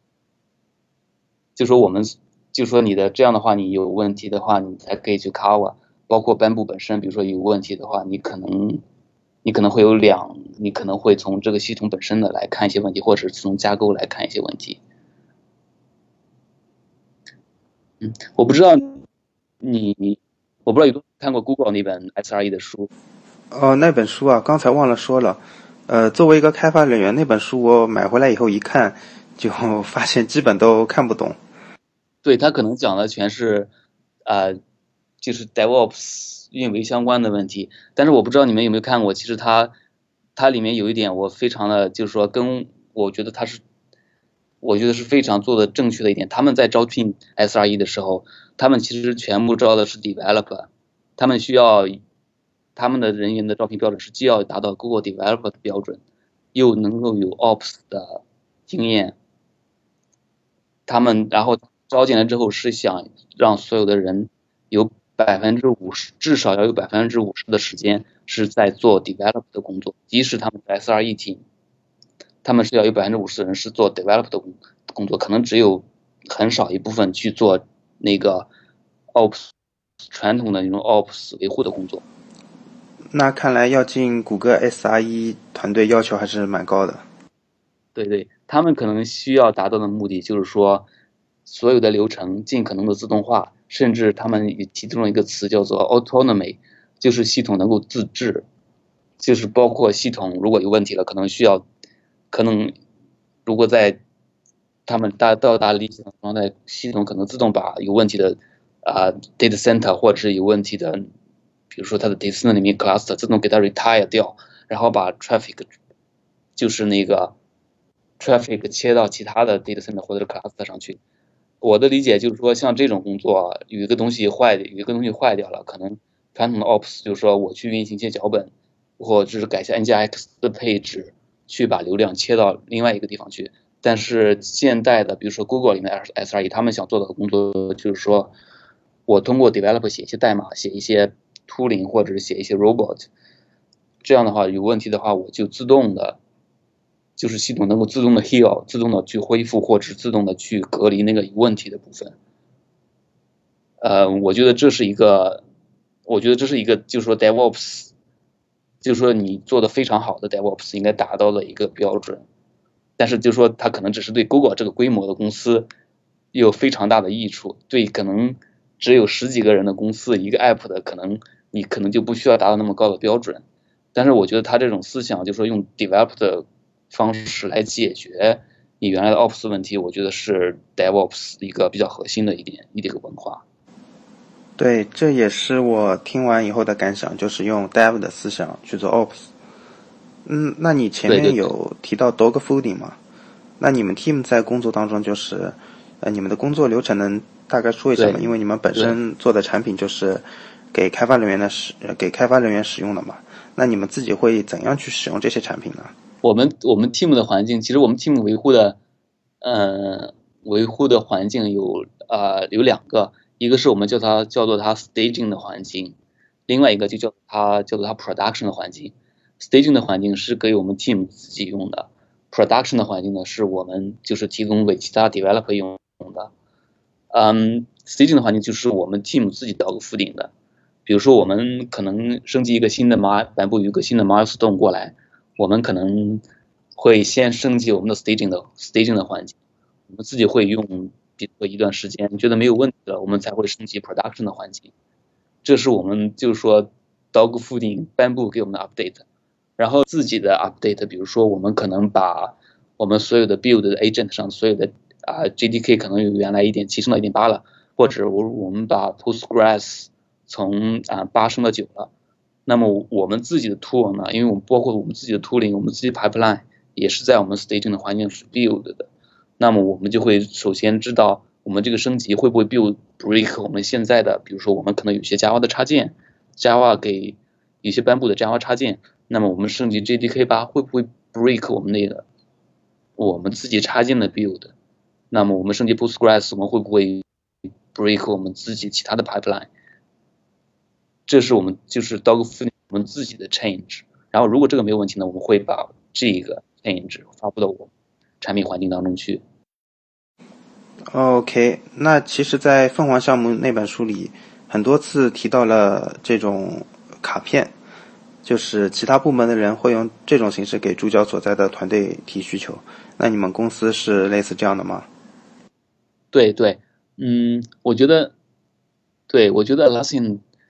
就说我们，就说你的这样的话，你有问题的话，你才可以去 cover。包括班布本身，比如说有问题的话，你可能你可能会有两，你可能会从这个系统本身的来看一些问题，或者是从架构来看一些问题。嗯，我不知道你我不知道有没有看过 Google 那本 S R E 的书。 哦，那本书啊，刚才忘了说了。呃，作为一个开发人员，那本书我买回来以后一看，就发现基本都看不懂。 对，他可能讲的全是，呃，就是 DevOps 运维相关的问题。但是我不知道你们有没有看过，其实它它里面有一点我非常的，就是说跟我觉得它是，我觉得是非常做的正确的一点。他们在招聘 S R E 的时候，他们其实全部招的是 developer，他们需要他们的人员的招聘标准是既要达到 Google developer 的标准，又能够有 Ops 的经验。他们然后招进来之后是想让所有的人有百分之五十，至少要有百分之五十的时间是在做 develop 的工作，即使他们是 S R E team，他们是要有百分之五十的人是做 develop 的工作，可能只有很少一部分去做那个 Ops 传统的那种 Ops 维护的工作。 那看来要进谷歌 S R E 团队要求还是蛮高的。 对对，他们可能需要达到的目的就是说，所有的流程尽可能的自动化，甚至他们也提出了一个词叫做 autonomy， 就是系统能够自治，就是包括系统如果有问题了，可能需要，可能如果在他们达到达理想状态，系统可能自动把有问题的啊、呃、data center 或者是有问题的，比如说它的 data center 里面 cluster 自动给它 retire 掉，然后把 traffic 就是那个traffic 切到其他的 data center 或者是 cluster 上去。我的理解就是说，像这种工作，有一个东西坏，有一个东西坏掉了，可能传统的 ops 就是说我去运行一些脚本，或者是改一下 N G X 的配置，去把流量切到另外一个地方去。但是现代的，比如说 Google 里面的 S R E， 他们想做的工作就是说，我通过 develop 写一些代码，写一些 tooling 或者是写一些 robot， 这样的话有问题的话，我就自动的。就是系统能够自动的 heal， 自动的去恢复，或者是自动的去隔离那个有问题的部分。呃，我觉得这是一个，我觉得这是一个，就是说 DevOps， 就是说你做的非常好的 DevOps 应该达到的一个标准。但是就是说它可能只是对 Google 这个规模的公司有非常大的益处，对可能只有十几个人的公司，一个 app 的可能你可能就不需要达到那么高的标准。但是我觉得他这种思想，就是说用 develop 的方式来解决你原来的 Ops 问题，我觉得是 DevOps 一个比较核心的一点一个文化。 对，这也是我听完以后的感想，就是用 Dev 的思想去做 Ops。嗯，那你前面有提到 dog fooding 吗？那你们 team 在工作当中就是，呃，你们的工作流程能大概说一下吗？因为你们本身做的产品就是给开发人员的使，给开发人员使用的嘛。那你们自己会怎样去使用这些产品呢？ 我们我们 team 的环境，其实我们 team 维护的，呃，维护的环境有呃有两个，一个是我们叫它叫做它 staging 的环境，另外一个就叫它叫做它 production 的环境。staging 的环境是给我们 team 自己用的 ，production 的环境呢是我们就是提供给其他 developer 用的。嗯 ，staging 的环境就是我们 team 自己dog fooding的，比如说我们可能升级一个新的 mi 颁布一个新的 milestone 过来。我们可能会先升级我们的 staging 的 staging 的环境，我们自己会用比如说一段时间，觉得没有问题了，我们才会升级 production 的环境。这是我们就是说 dog fooding 颁布给我们的 update， 然后自己的 update， 比如说我们可能把我们所有的 build 的 agent 上所有的啊 J D K 可能由原来一点七升到一点八了，或者我我们把 Postgres 从啊八升到九了。那么我们自己的 tool 呢，因为我们包括我们自己的 tooling， 我们自己 pipeline 也是在我们 staging 的环境是 build 的。那么我们就会首先知道我们这个升级会不会 build break 我们现在的，比如说我们可能有些 Java 的插件 ，Java 给有些颁布的 Java 插件，那么我们升级 J D K 八会不会 break 我们那个我们自己插件的 build？ 那么我们升级 Postgres 我们会不会 break 我们自己其他的 pipeline？这是我们就是 dog fooding 我们自己的 change， 然后如果这个没有问题呢，我们会把这个 change 发布到我们产品环境当中去。 OK， 那其实在凤凰项目那本书里很多次提到了这种卡片，就是其他部门的人会用这种形式给主角所在的团队提需求。那你们公司是类似这样的吗？ 对对，嗯，我觉得，对，我觉得 Atlassian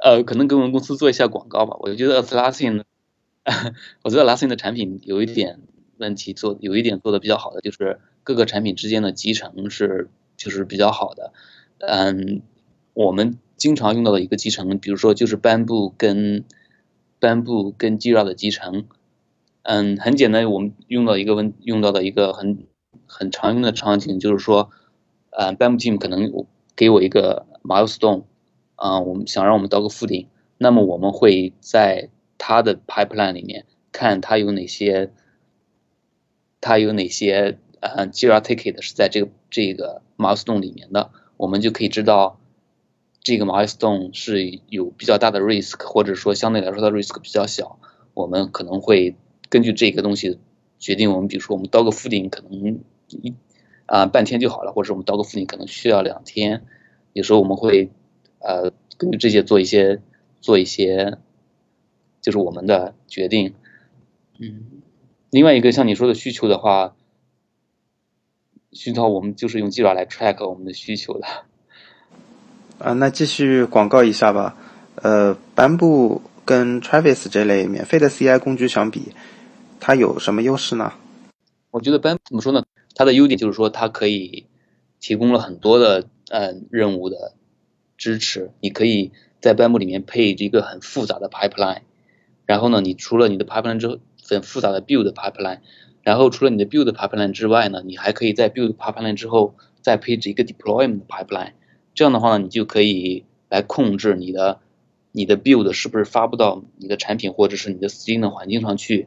呃，可能给我们公司做一下广告吧。我觉得 Atlassian，我觉得 Atlassian 的产品有一点问题做，有一点做的比较好的，就是各个产品之间的集成是就是比较好的。嗯，我们经常用到的一个集成，比如说就是 Bamboo 跟 Bamboo 跟 Jira 的集成。嗯，很简单，我们用到一个问用到的一个很很常用的场景，就是说，呃 ，Bamboo Team 可能给我一个 milestone，啊、呃，我们想让我们到个负顶，那么我们会在它的 pipeline 里面看它有哪些，它有哪些呃 Jira ticket 是在这个这个 milestone 里面的，我们就可以知道这个 milestone 是有比较大的 risk， 或者说相对来说它 risk 比较小，我们可能会根据这个东西决定我们，比如说我们到个负顶可能一啊、呃、半天就好了，或者我们到个负顶可能需要两天，有时候我们会呃根据这些做一些做一些就是我们的决定。嗯，另外一个像你说的需求的话，需求我们就是用 Jira 来 track 我们的需求的。 啊，那继续广告一下吧。呃，Bamboo 跟 Travis 这类免费的 C I 工具相比，它有什么优势呢？ 我觉得 Bamboo 怎么说呢？它的优点就是说它可以提供了很多的呃任务的支持，你可以在 Bamboo 里面配一个很复杂的 pipeline， 然后呢，你除了你的 pipeline 之后很复杂的 build pipeline， 然后除了你的 build pipeline 之外呢，你还可以在 build pipeline 之后再配置一个 deployment pipeline， 这样的话呢，你就可以来控制你的你的 build 是不是发布到你的产品或者是你的 staging 的环境上去。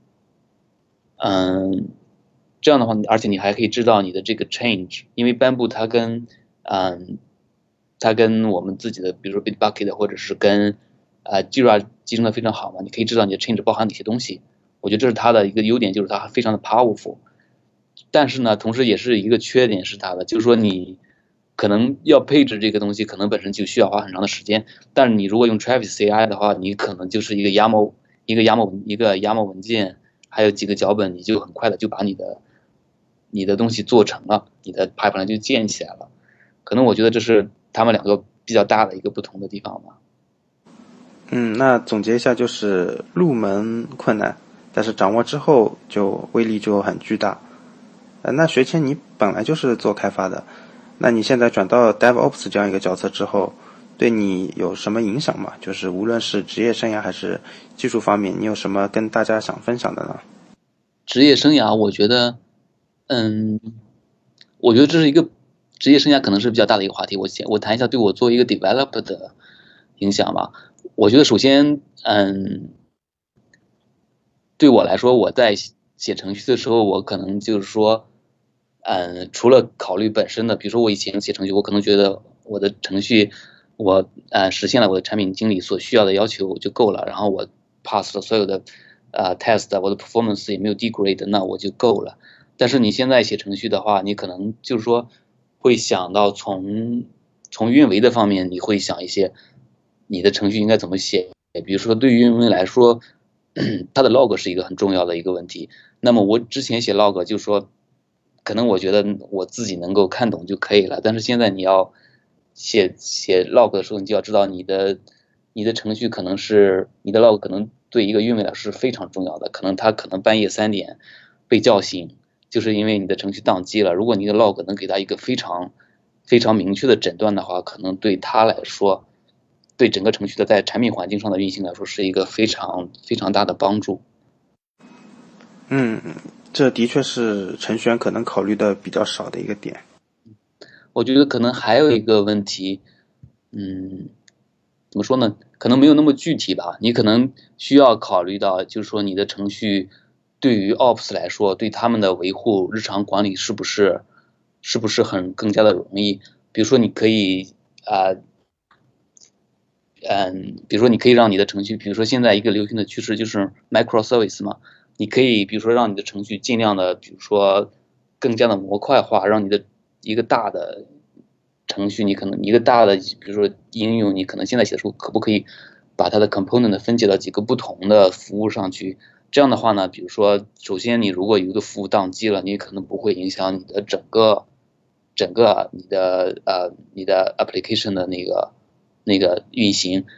嗯，这样的话，而且你还可以知道你的这个 change， 因为 Bamboo 它跟嗯它跟我们自己的比如说 Bitbucket 或者是跟呃 Jira 集成的非常好嘛，你可以知道你的 change 包含哪些东西。我觉得这是它的一个优点，就是它非常的 powerful。但是呢，同时也是一个缺点是它的，就是说你可能要配置这个东西，可能本身就需要花很长的时间。但是你如果用 Travis C I 的话，你可能就是一个 YAML 一个 YAML 一个 YAML 文件，还有几个脚本，你就很快的就把你的你的东西做成了，你的 pipeline 就建起来了。可能我觉得这是他们两个比较大的一个不同的地方吧。 嗯，那总结一下就是入门困难，但是掌握之后就威力就很巨大。呃，那学谦你本来就是做开发的，那你现在转到 DevOps 这样一个角色之后，对你有什么影响吗？就是无论是职业生涯还是技术方面，你有什么跟大家想分享的呢？ 职业生涯，我觉得，嗯，我觉得这是一个职业生涯可能是比较大的一个话题。我先我谈一下对我作为一个 developer 的影响吧。我觉得首先，嗯，对我来说，我在写程序的时候，我可能就是说，嗯，除了考虑本身的，比如说我以前写程序，我可能觉得我的程序我呃实现了我的产品经理所需要的要求就够了，然后我 pass 了所有的呃 test，我的 performance 也没有 degrade，那我就够了。但是你现在写程序的话，你可能就是说会想到从从运维的方面，你会想一些你的程序应该怎么写。比如说对于运维来说，它的 log 是一个很重要的一个问题。那么我之前写 log 就说，可能我觉得我自己能够看懂就可以了。但是现在你要写写 log 的时候，你就要知道你的你的程序可能是你的 log 可能对一个运维来说是非常重要的。可能他可能半夜三点被叫醒，就是因为你的程序宕机了。如果你的 log 能给他一个非常非常明确的诊断的话，可能对他来说，对整个程序的在产品环境上的运行来说是一个非常非常大的帮助。 嗯，这的确是程序员可能考虑的比较少的一个点。 我觉得可能还有一个问题，嗯，怎么说呢？可能没有那么具体吧。你可能需要考虑到，就是说你的程序对于 Ops 来说，对他们的维护、日常管理是不是是不是很更加的容易？比如说，你可以啊。呃嗯，比如说你可以让你的程序，比如说现在一个流行的趋势就是 microservice 嘛，你可以比如说让你的程序尽量的，比如说更加的模块化，让你的一个大的程序，你可能一个大的，比如说应用，你可能现在写的时候可不可以把它的 component 分解到几个不同的服务上去？这样的话呢，比如说首先你如果有一个服务宕机了，你可能不会影响你的整个整个你的呃你的 application 的那个那个运行。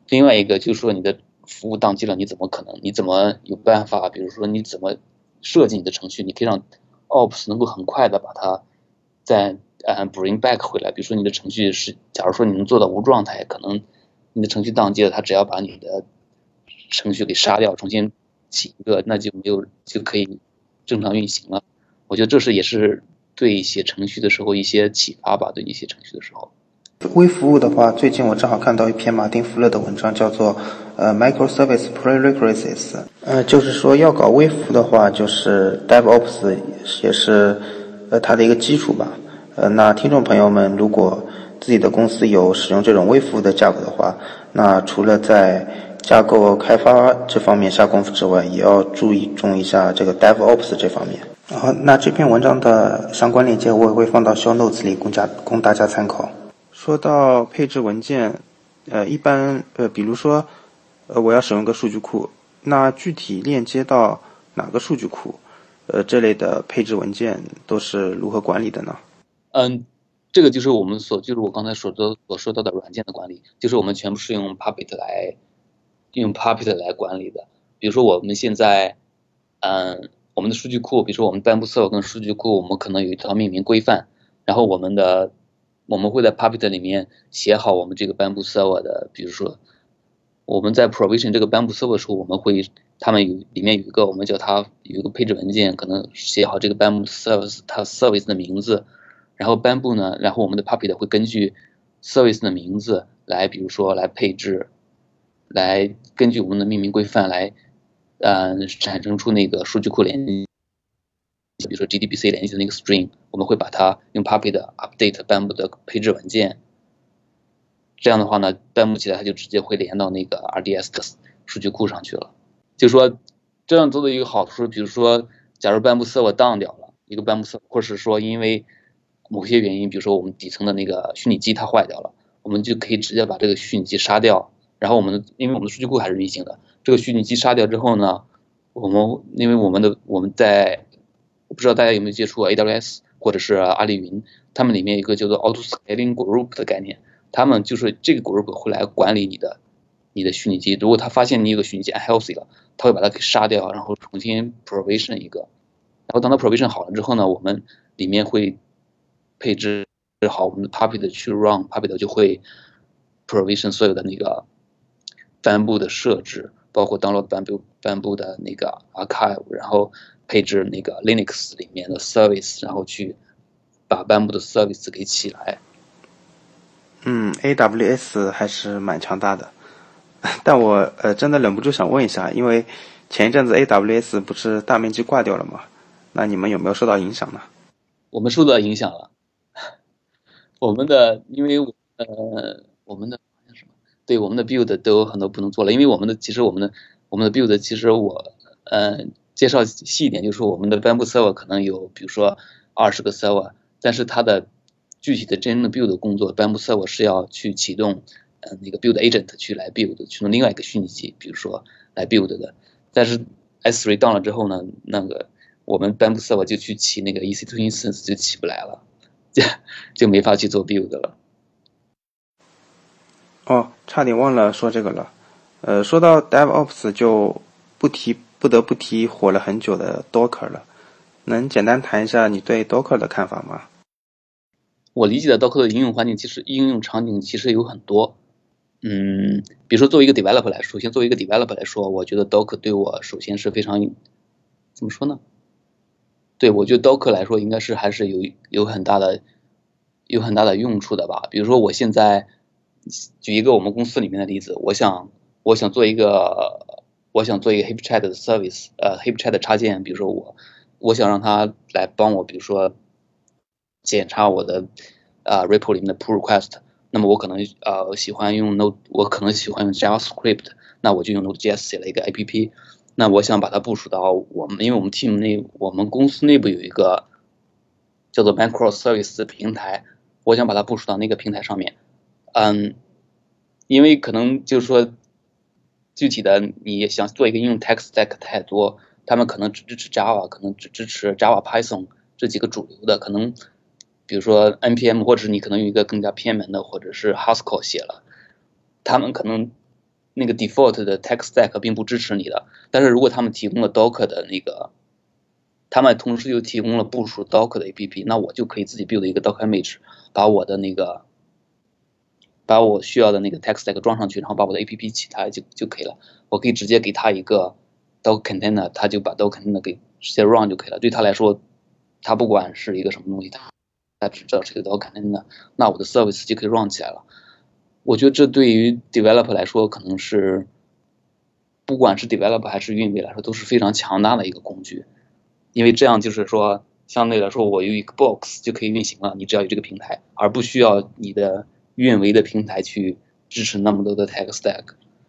另外一个就是说你的服务宕机了，你怎么可能？你怎么有办法？比如说你怎么设计你的程序，你可以让 Ops 能够很快的把它再呃 bring back 回来。比如说你的程序是，假如说你能做到无状态，可能你的程序宕机了，它只要把你的程序给杀掉，重新起一个，那就没有就可以正常运行了。我觉得这是也是对写程序的时候一些启发吧，对你写程序的时候。 微服务的话，最近我正好看到一篇马丁弗勒的文章，叫做呃 Microservice Prerequisites，呃，就是说要搞微服务的话，就是 DevOps 也是呃它的一个基础吧。呃，那听众朋友们，如果自己的公司有使用这种微服务的架构的话，那除了在架构开发这方面下功夫之外，也要注意重一下这个 DevOps 这方面。然后，那这篇文章的相关链接我也会放到 show notes 里供家供大家参考。说到配置文件，呃，一般呃，比如说，呃，我要使用个数据库，那具体链接到哪个数据库，呃，这类的配置文件都是如何管理的呢？ 嗯，这个就是我们所就是我刚才所说所说到的软件的管理，就是我们全部是用 Puppet 来用 Puppet 来管理的。比如说我们现在，嗯，我们的数据库，比如说我们 Bamboo Server 跟数据库，我们可能有一套命名规范，然后我们的我们会在 Puppet 里面写好我们这个 Bamboo Server 的，比如说我们在 provision 这个 Bamboo Server 的时候，我们会他们有里面有一个我们叫它有一个配置文件，可能写好这个 Bamboo Service 它 Service 的名字，然后 Bamboo 呢，然后我们的 Puppet 会根据 Service 的名字来，比如说来配置，来根据我们的命名规范来，呃，产生出那个数据库联系。比如说 G D B C 联系的那个 string， 我们会把它用 Puppet update Bamboo 的配置文件。这样的话呢 ，Bamboo 起来它就直接会连到那个 R D S 的数据库上去了。就是说，这样做的一个好处，比如说，假如 Bamboo Server down 掉了，一个 Bamboo Server，或是说因为某些原因，比如说我们底层的那个虚拟机它坏掉了，我们就可以直接把这个虚拟机杀掉。然后我们因为我们的数据库还是运行的，这个虚拟机杀掉之后呢，我们因为我们的我们在我不知道大家有没有接触 A W S 或者是阿里云，他们里面有一个叫做 Auto Scaling Group 的概念，他们就是这个 group 会来管理你的你的虚拟机。如果他发现你有个虚拟机 unhealthy 了，他会把它给杀掉，然后重新 provision 一个。然后当它 provision 好了之后呢，我们里面会配置好我们的 Puppet 去 run，Puppet 就会 provision 所有的那个 Bamboo 的设置，包括 download Bamboo Bamboo 的那个 archive， 然后配置那个 Linux 里面的 service， 然后去把 Bamboo 的 service 给起来。 嗯 ，A W S 还是蛮强大的，但我呃真的忍不住想问一下，因为前一阵子 A W S 不是大面积挂掉了吗？那你们有没有受到影响呢？ 我们受到影响了，我们的因为呃我们的什么？对，我们的 build 都有很多不能做了，因为我们的其实我们的我们的 build 其实我呃介绍细一点，就是说我们的 Bamboo Server 可能有比如说二十个 server， 但是它的具体的真正的 build 工作 ，Bamboo Server 是要去启动呃那个 build agent 去来 build， 去用另外一个虚拟机，比如说来 build 的。但是 S 三 down 了之后呢，那个我们 Bamboo Server 就去起那个 E C two instance 就起不来了，就就没法去做 build 了。 哦，差点忘了说这个了。呃，说到 DevOps 就不提不得不提火了很久的 Docker 了。能简单谈一下你对 Docker 的看法吗？ 我理解的 Docker 的应用环境其实应用场景其实有很多。嗯，比如说作为一个 developer 来说，先作为一个 developer 来说，我觉得 Docker 对我首先是非常怎么说呢？对，我觉得 Docker 来说应该是还是有有很大的有很大的用处的吧。比如说我现在举一个我们公司里面的例子，我想我想做一个我想做一个 HipChat 的 service， 呃 HipChat 的插件，比如说我我想让它来帮我，比如说检查我的啊、呃、repo 里面的 pull request， 那么我可能呃喜欢用 Node， 我可能喜欢用 JavaScript， 那我就用 Node.js 写了一个 A P P。那我想把它部署到我们，因为我们 team 内，我们公司内部有一个叫做 Microservice 的平台，我想把它部署到那个平台上面。嗯，因为可能就是说，具体的你想做一个应用 tech stack 太多，他们可能只支持 Java， 可能只支持 Java、Python 这几个主流的，可能比如说 N P M， 或者你可能用一个更加偏门的，或者是 Haskell 写了，他们可能那个 default 的 tech stack 并不支持你的，但是如果他们提供了 Docker 的那个，他们同时又提供了部署 Docker 的 A P P， 那我就可以自己 build 一个 Docker image， 把我的那个把我需要的那个 tech stack 装上去，然后把我的 A P P 起它就就可以了。我可以直接给他一个 Docker container， 他就把 Docker container 给直接 run 就可以了。对他来说，他不管是一个什么东西，他他只知道是一个 Docker container， 那我的 service 就可以 run 起来了。我觉得这对于 developer 来说，可能是不管是 developer 还是运维来说，都是非常强大的一个工具，因为这样就是说，相对来说，我有一个 box 就可以运行了，你只要有这个平台，而不需要你的运维的平台去支持那么多的 tech stack。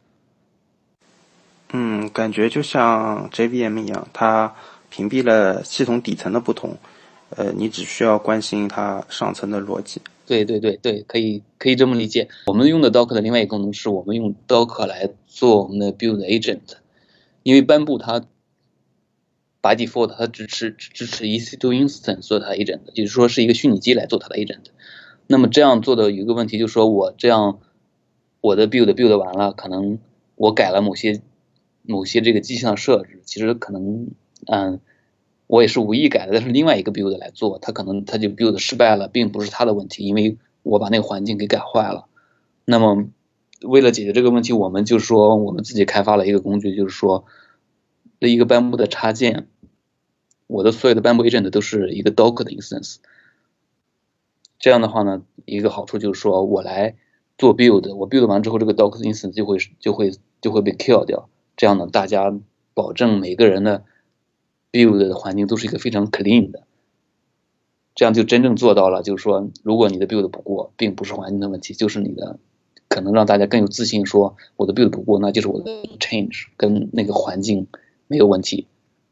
嗯，感觉就像 J V M 一样，它屏蔽了系统底层的不同，呃，你只需要关心它上层的逻辑。 对对对对，可以可以这么理解。我们用的 Docker 的另外一个功能是我们用 Docker 来做我们的 build agent， 因为斑布它 by default 它支持支持 E C 二 instance 做它的 agent， 也就是说是一个虚拟机来做它的 agent。那么这样做的有一个问题就是说，我这样我的 build build 完了，可能我改了某些某些这个机器的设置，其实可能嗯。我也是无意改的，但是另外一个 build 来做，他可能他就 build 失败了，并不是他的问题，因为我把那个环境给改坏了。那么为了解决这个问题，我们就说我们自己开发了一个工具，就是说的一个斑布的插件，我的所有的斑布 agent 都是一个 Docker 的 instance。这样的话呢，一个好处就是说我来做 build， 我 build 完之后，这个 Docker instance 就会就会就会被 kill 掉。这样呢，大家保证每个人的build 的环境都是一个非常 clean 的，这样就真正做到了，就是说，如果你的 build 不过，并不是环境的问题，就是你的可能让大家更有自信说，我的 build 不过，那就是我的 change 跟那个环境没有问题。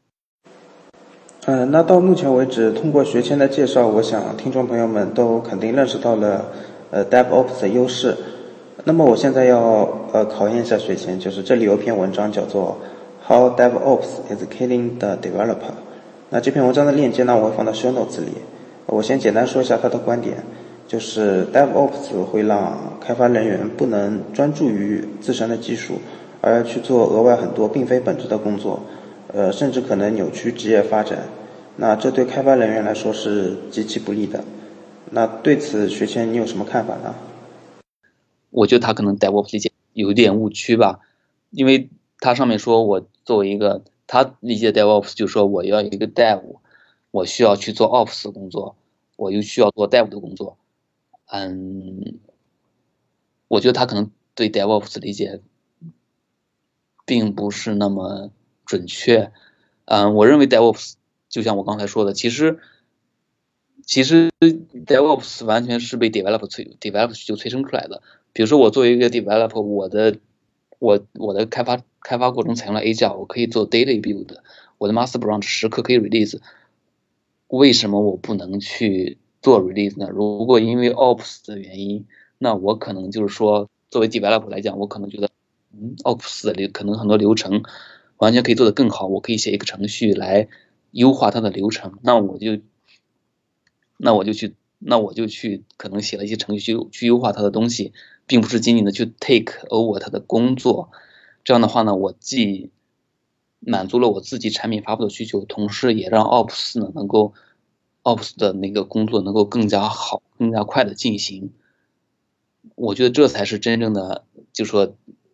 呃，那到目前为止，通过学谦的介绍，我想听众朋友们都肯定认识到了呃 DevOps 的优势。那么我现在要呃考验一下学谦，就是这里有一篇文章叫做How DevOps is Killing the Developer。那这篇文章的链接呢，我会放到 show notes 里。我先简单说一下他的观点，就是 DevOps 会让开发人员不能专注于自身的技术，而要去做额外很多并非本质的工作，呃，甚至可能扭曲职业发展。那这对开发人员来说是极其不利的。那对此，学谦你有什么看法呢？ 我觉得他可能 DevOps 理解有一点误区吧，因为他上面说我作为一个他理解 DevOps 就是说我要一个 Dev， 我需要去做 Ops 的工作，我又需要做 Dev 的工作。嗯，我觉得他可能对 DevOps 的理解并不是那么准确。嗯，我认为 DevOps 就像我刚才说的，其实其实 DevOps 完全是被 developer 催 developer 就催生出来的。比如说我作为一个 developer， 我的我我的开发开发过程采用了 Agile， 我可以做 daily build， 我的 master branch 时刻可以 release。为什么我不能去做 release 呢？如果因为 Ops 的原因，那我可能就是说，作为 developer 来讲，我可能觉得，嗯 ，Ops 的流可能很多流程完全可以做得更好，我可以写一个程序来优化它的流程，那我就那我就去那我就去可能写了一些程序去优化它的东西，并不是仅仅的去 take over 它的工作。这样的话呢，我既满足了我自己产品发布的需求，同时也让 Ops 呢能够 Ops 的那个工作能够更加好、更加快的进行。我觉得这才是真正的，就说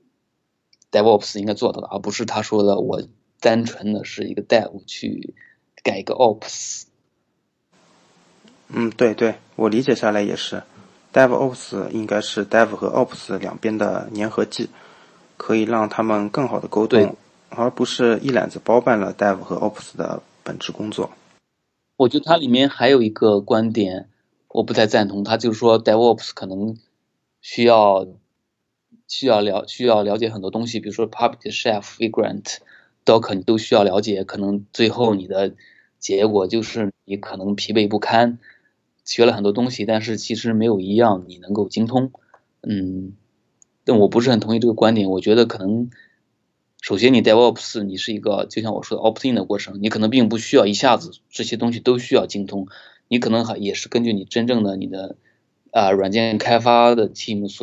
DevOps 应该做到的，而不是他说的我单纯的是一个 Dev 去改一个 Ops。 嗯，对对，我理解下来也是 ，DevOps 应该是 Dev 和 Ops 两边的粘合剂，可以让他们更好的沟通，而不是一揽子包办了 Dev 和 Ops 的本质工作。 我觉得它里面还有一个观点，我不太赞同，他就是说 DevOps 可能需要需要了需要了解很多东西，比如说 Puppet、Chef、Vagrant、Docker 你都需要了解，可能最后你的结果就是你可能疲惫不堪，学了很多东西，但是其实没有一样你能够精通。嗯，但我不是很同意这个观点，我觉得可能首先你 DevOps 你是一个就像我说的 opt-in 的过程，你可能并不需要一下子这些东西都需要精通，你可能还也是根据你真正的你的啊、呃、软件开发的 team 所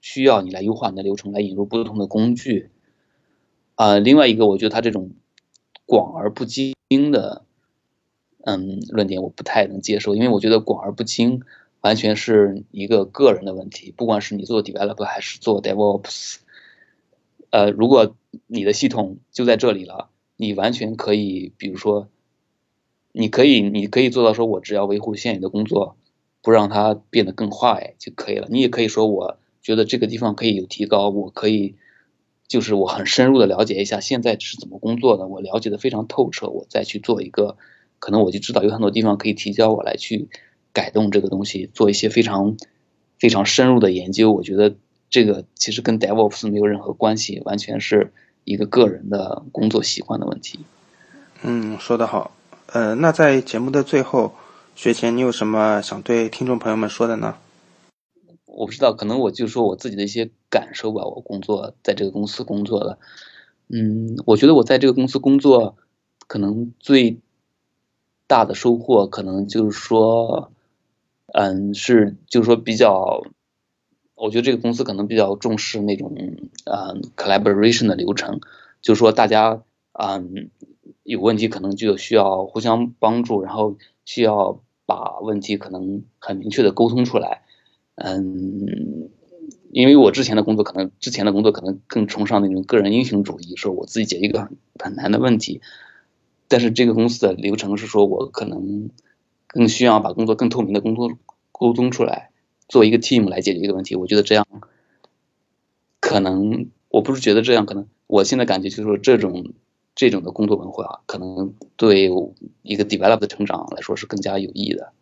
需要你来优化你的流程，来引入不同的工具。啊、呃，另外一个，我觉得他这种广而不精的，嗯，论点我不太能接受，因为我觉得广而不精完全是一个个人的问题，不管是你做 developer 还是做 DevOps， 呃，如果你的系统就在这里了，你完全可以，比如说，你可以你可以做到说，我只要维护现有的工作，不让它变得更坏就可以了。你也可以说，我觉得这个地方可以有提高，我可以。就是我很深入的了解一下现在是怎么工作的，我了解的非常透彻，我再去做一个，可能我就知道有很多地方可以提交我来去改动这个东西，做一些非常非常深入的研究。我觉得这个其实跟 DevOps 没有任何关系，完全是一个个人的工作习惯的问题。 嗯，说得好。呃，那在节目的最后，学前你有什么想对听众朋友们说的呢？ 我不知道，可能我就说我自己的一些感受吧。我工作在这个公司工作的，嗯，我觉得我在这个公司工作，可能最大的收获，可能就是说，嗯，是就是说比较，我觉得这个公司可能比较重视那种嗯 collaboration 的流程，就是说大家嗯有问题可能就需要互相帮助，然后需要把问题可能很明确的沟通出来。嗯，因为我之前的工作可能之前的工作可能更崇尚那种个人英雄主义，说我自己解决一个很很难的问题，但是这个公司的流程是说我可能更需要把工作更透明的工作沟通出来，做一个 team 来解决一个问题。我觉得这样可能我不是觉得这样可能，我现在感觉就是说这种这种的工作文化可能对一个 develop 的成长来说是更加有益的。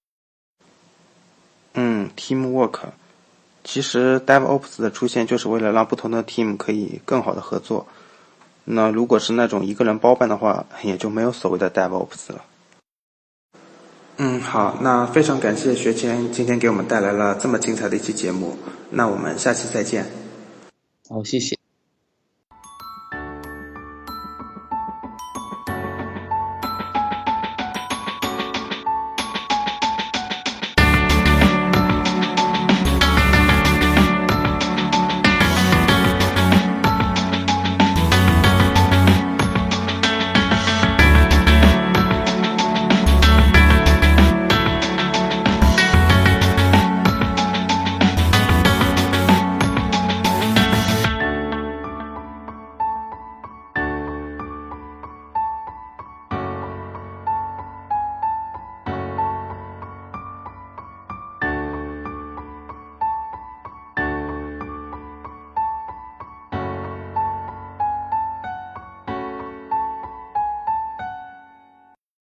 嗯 ，teamwork。其实 DevOps 的出现就是为了让不同的 team 可以更好的合作。那如果是那种一个人包办的话，也就没有所谓的 DevOps 了。嗯，好，那非常感谢学谦今天给我们带来了这么精彩的一期节目，那我们下期再见。 好，谢谢。